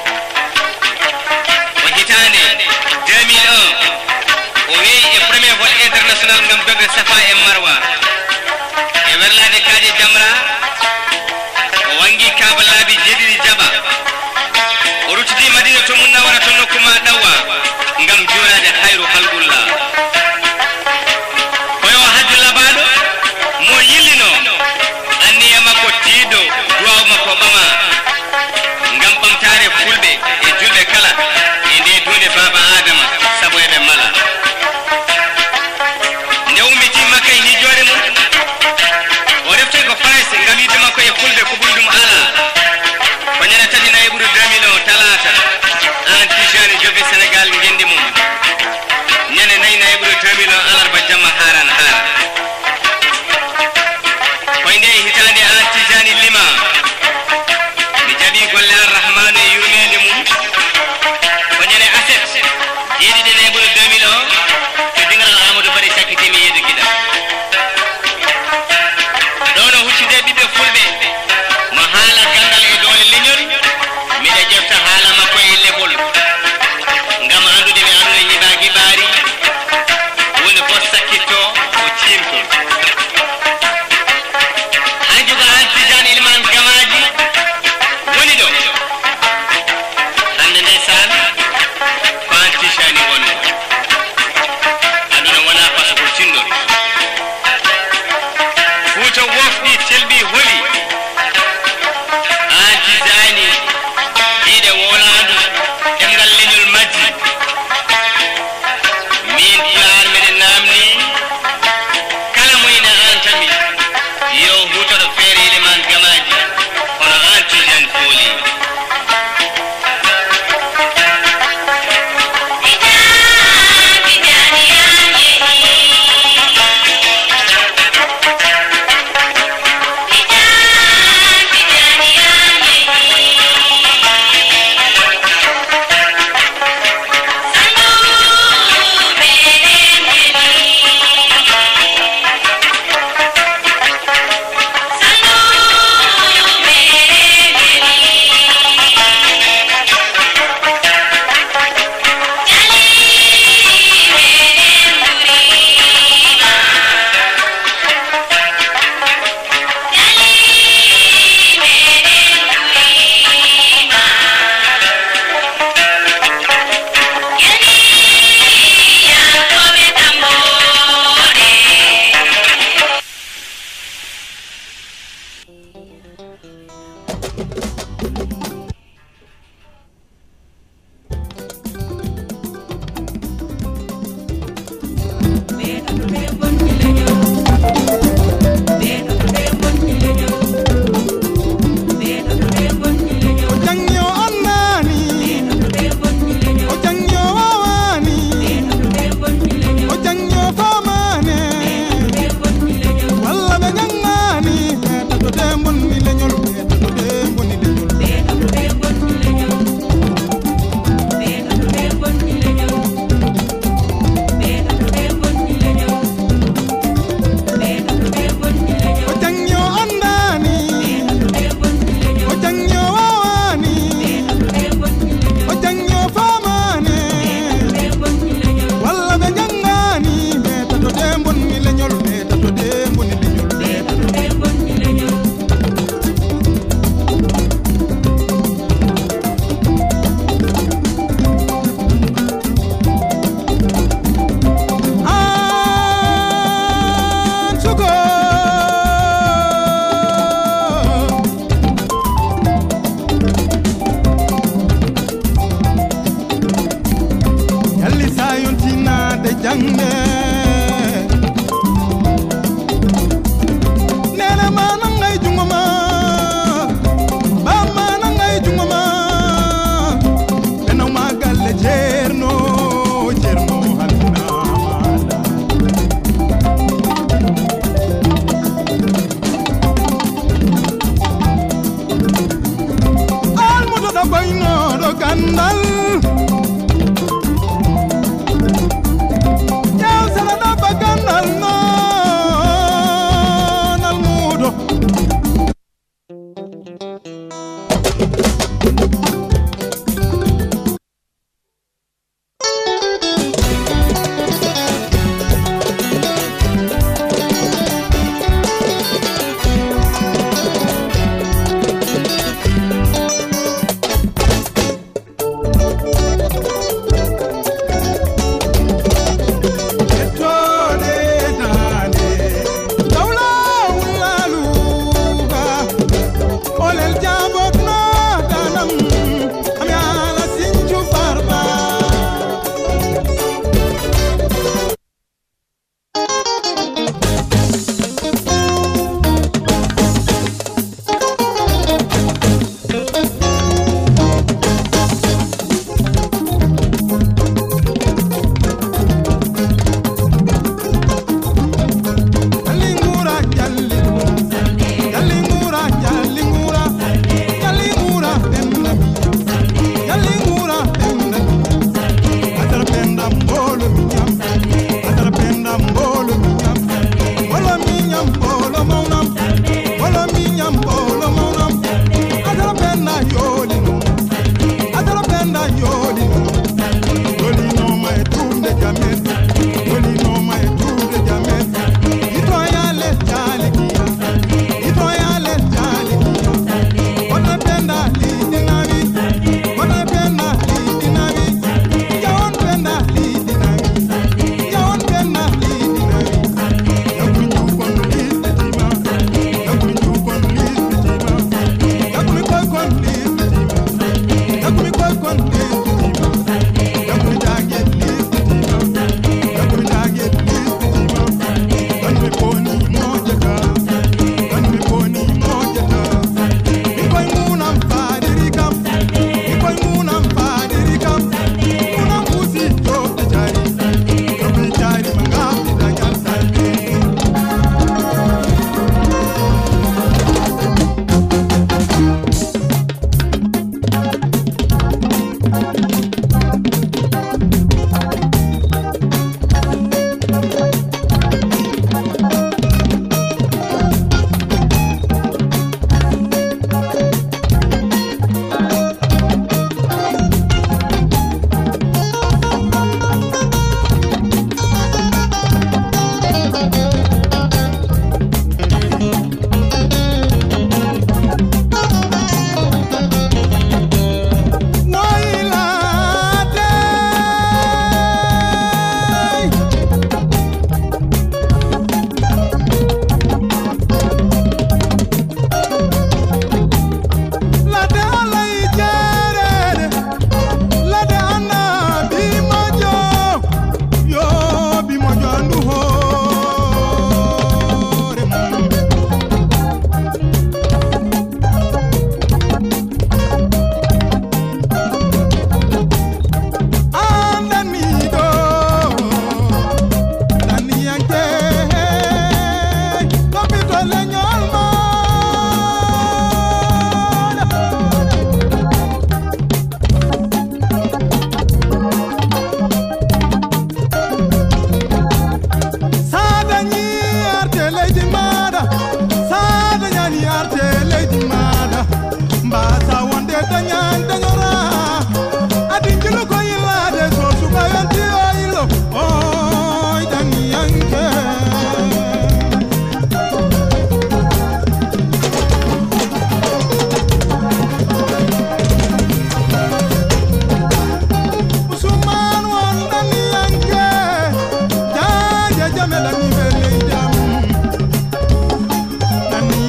o hitande deux mille un o weeyi e premier vol international gam dogde safa e marwa e werlade kaaje jamra o wangi kaba laabi jeeɗiɗi jaɓa o ruttidi madina to mum nawara to nokkuma ɗawwa gam juurade hayru halgullah koyo hajju labaɗo mo yillino anniya makko tiiɗo duwaw makko ɓama gam ɓamtare fulɓe e julɓe kala e nde dunde baba adama saabu eɓe mala nde ummiti makka e hijjore mum o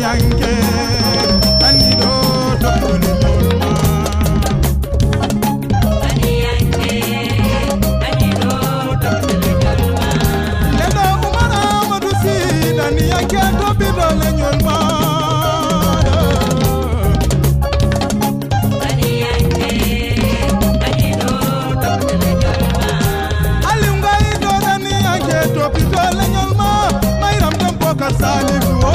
yanke ani do topole nyolma ani yanke ani do topole nyolma leda umara madusi ani yanke topole nyolma ani yanke ani do topole nyolma alungai do ani yanke topole nyolma mairam tempo kasali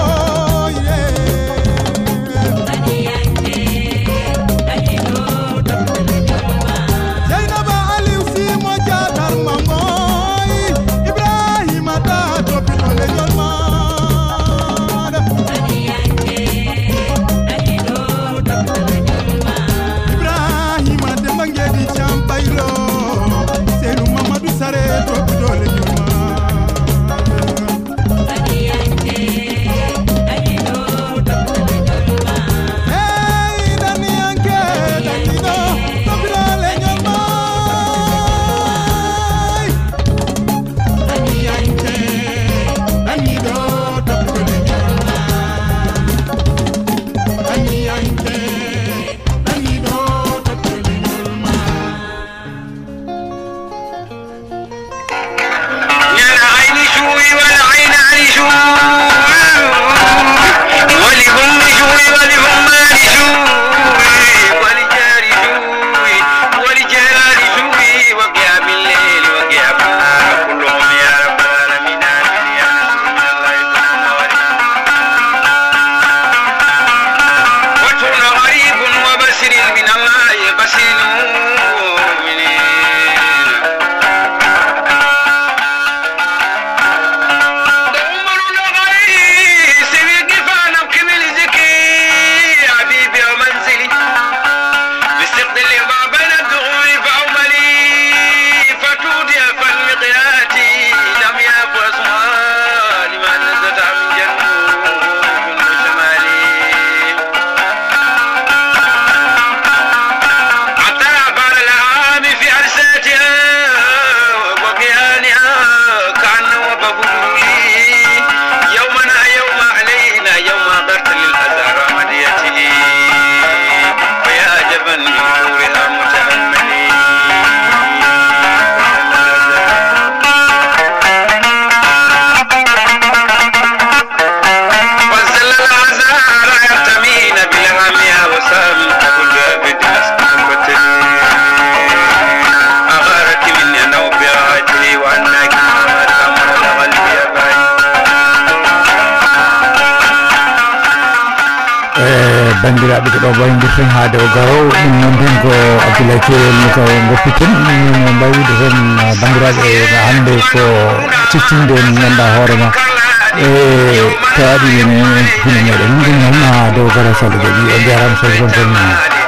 bandiraɓe ko ɗo waydirten haade o garo ɗum noon tan ko Abdoulaye Keewel ni ko goppiten min mbawide hen bandiraɓe hande ko ciccinde en ganduɗa hoorema e tawaɗi ene hino meɗen ɗum noon ha dow garo sall jooɓi o jarama so gonten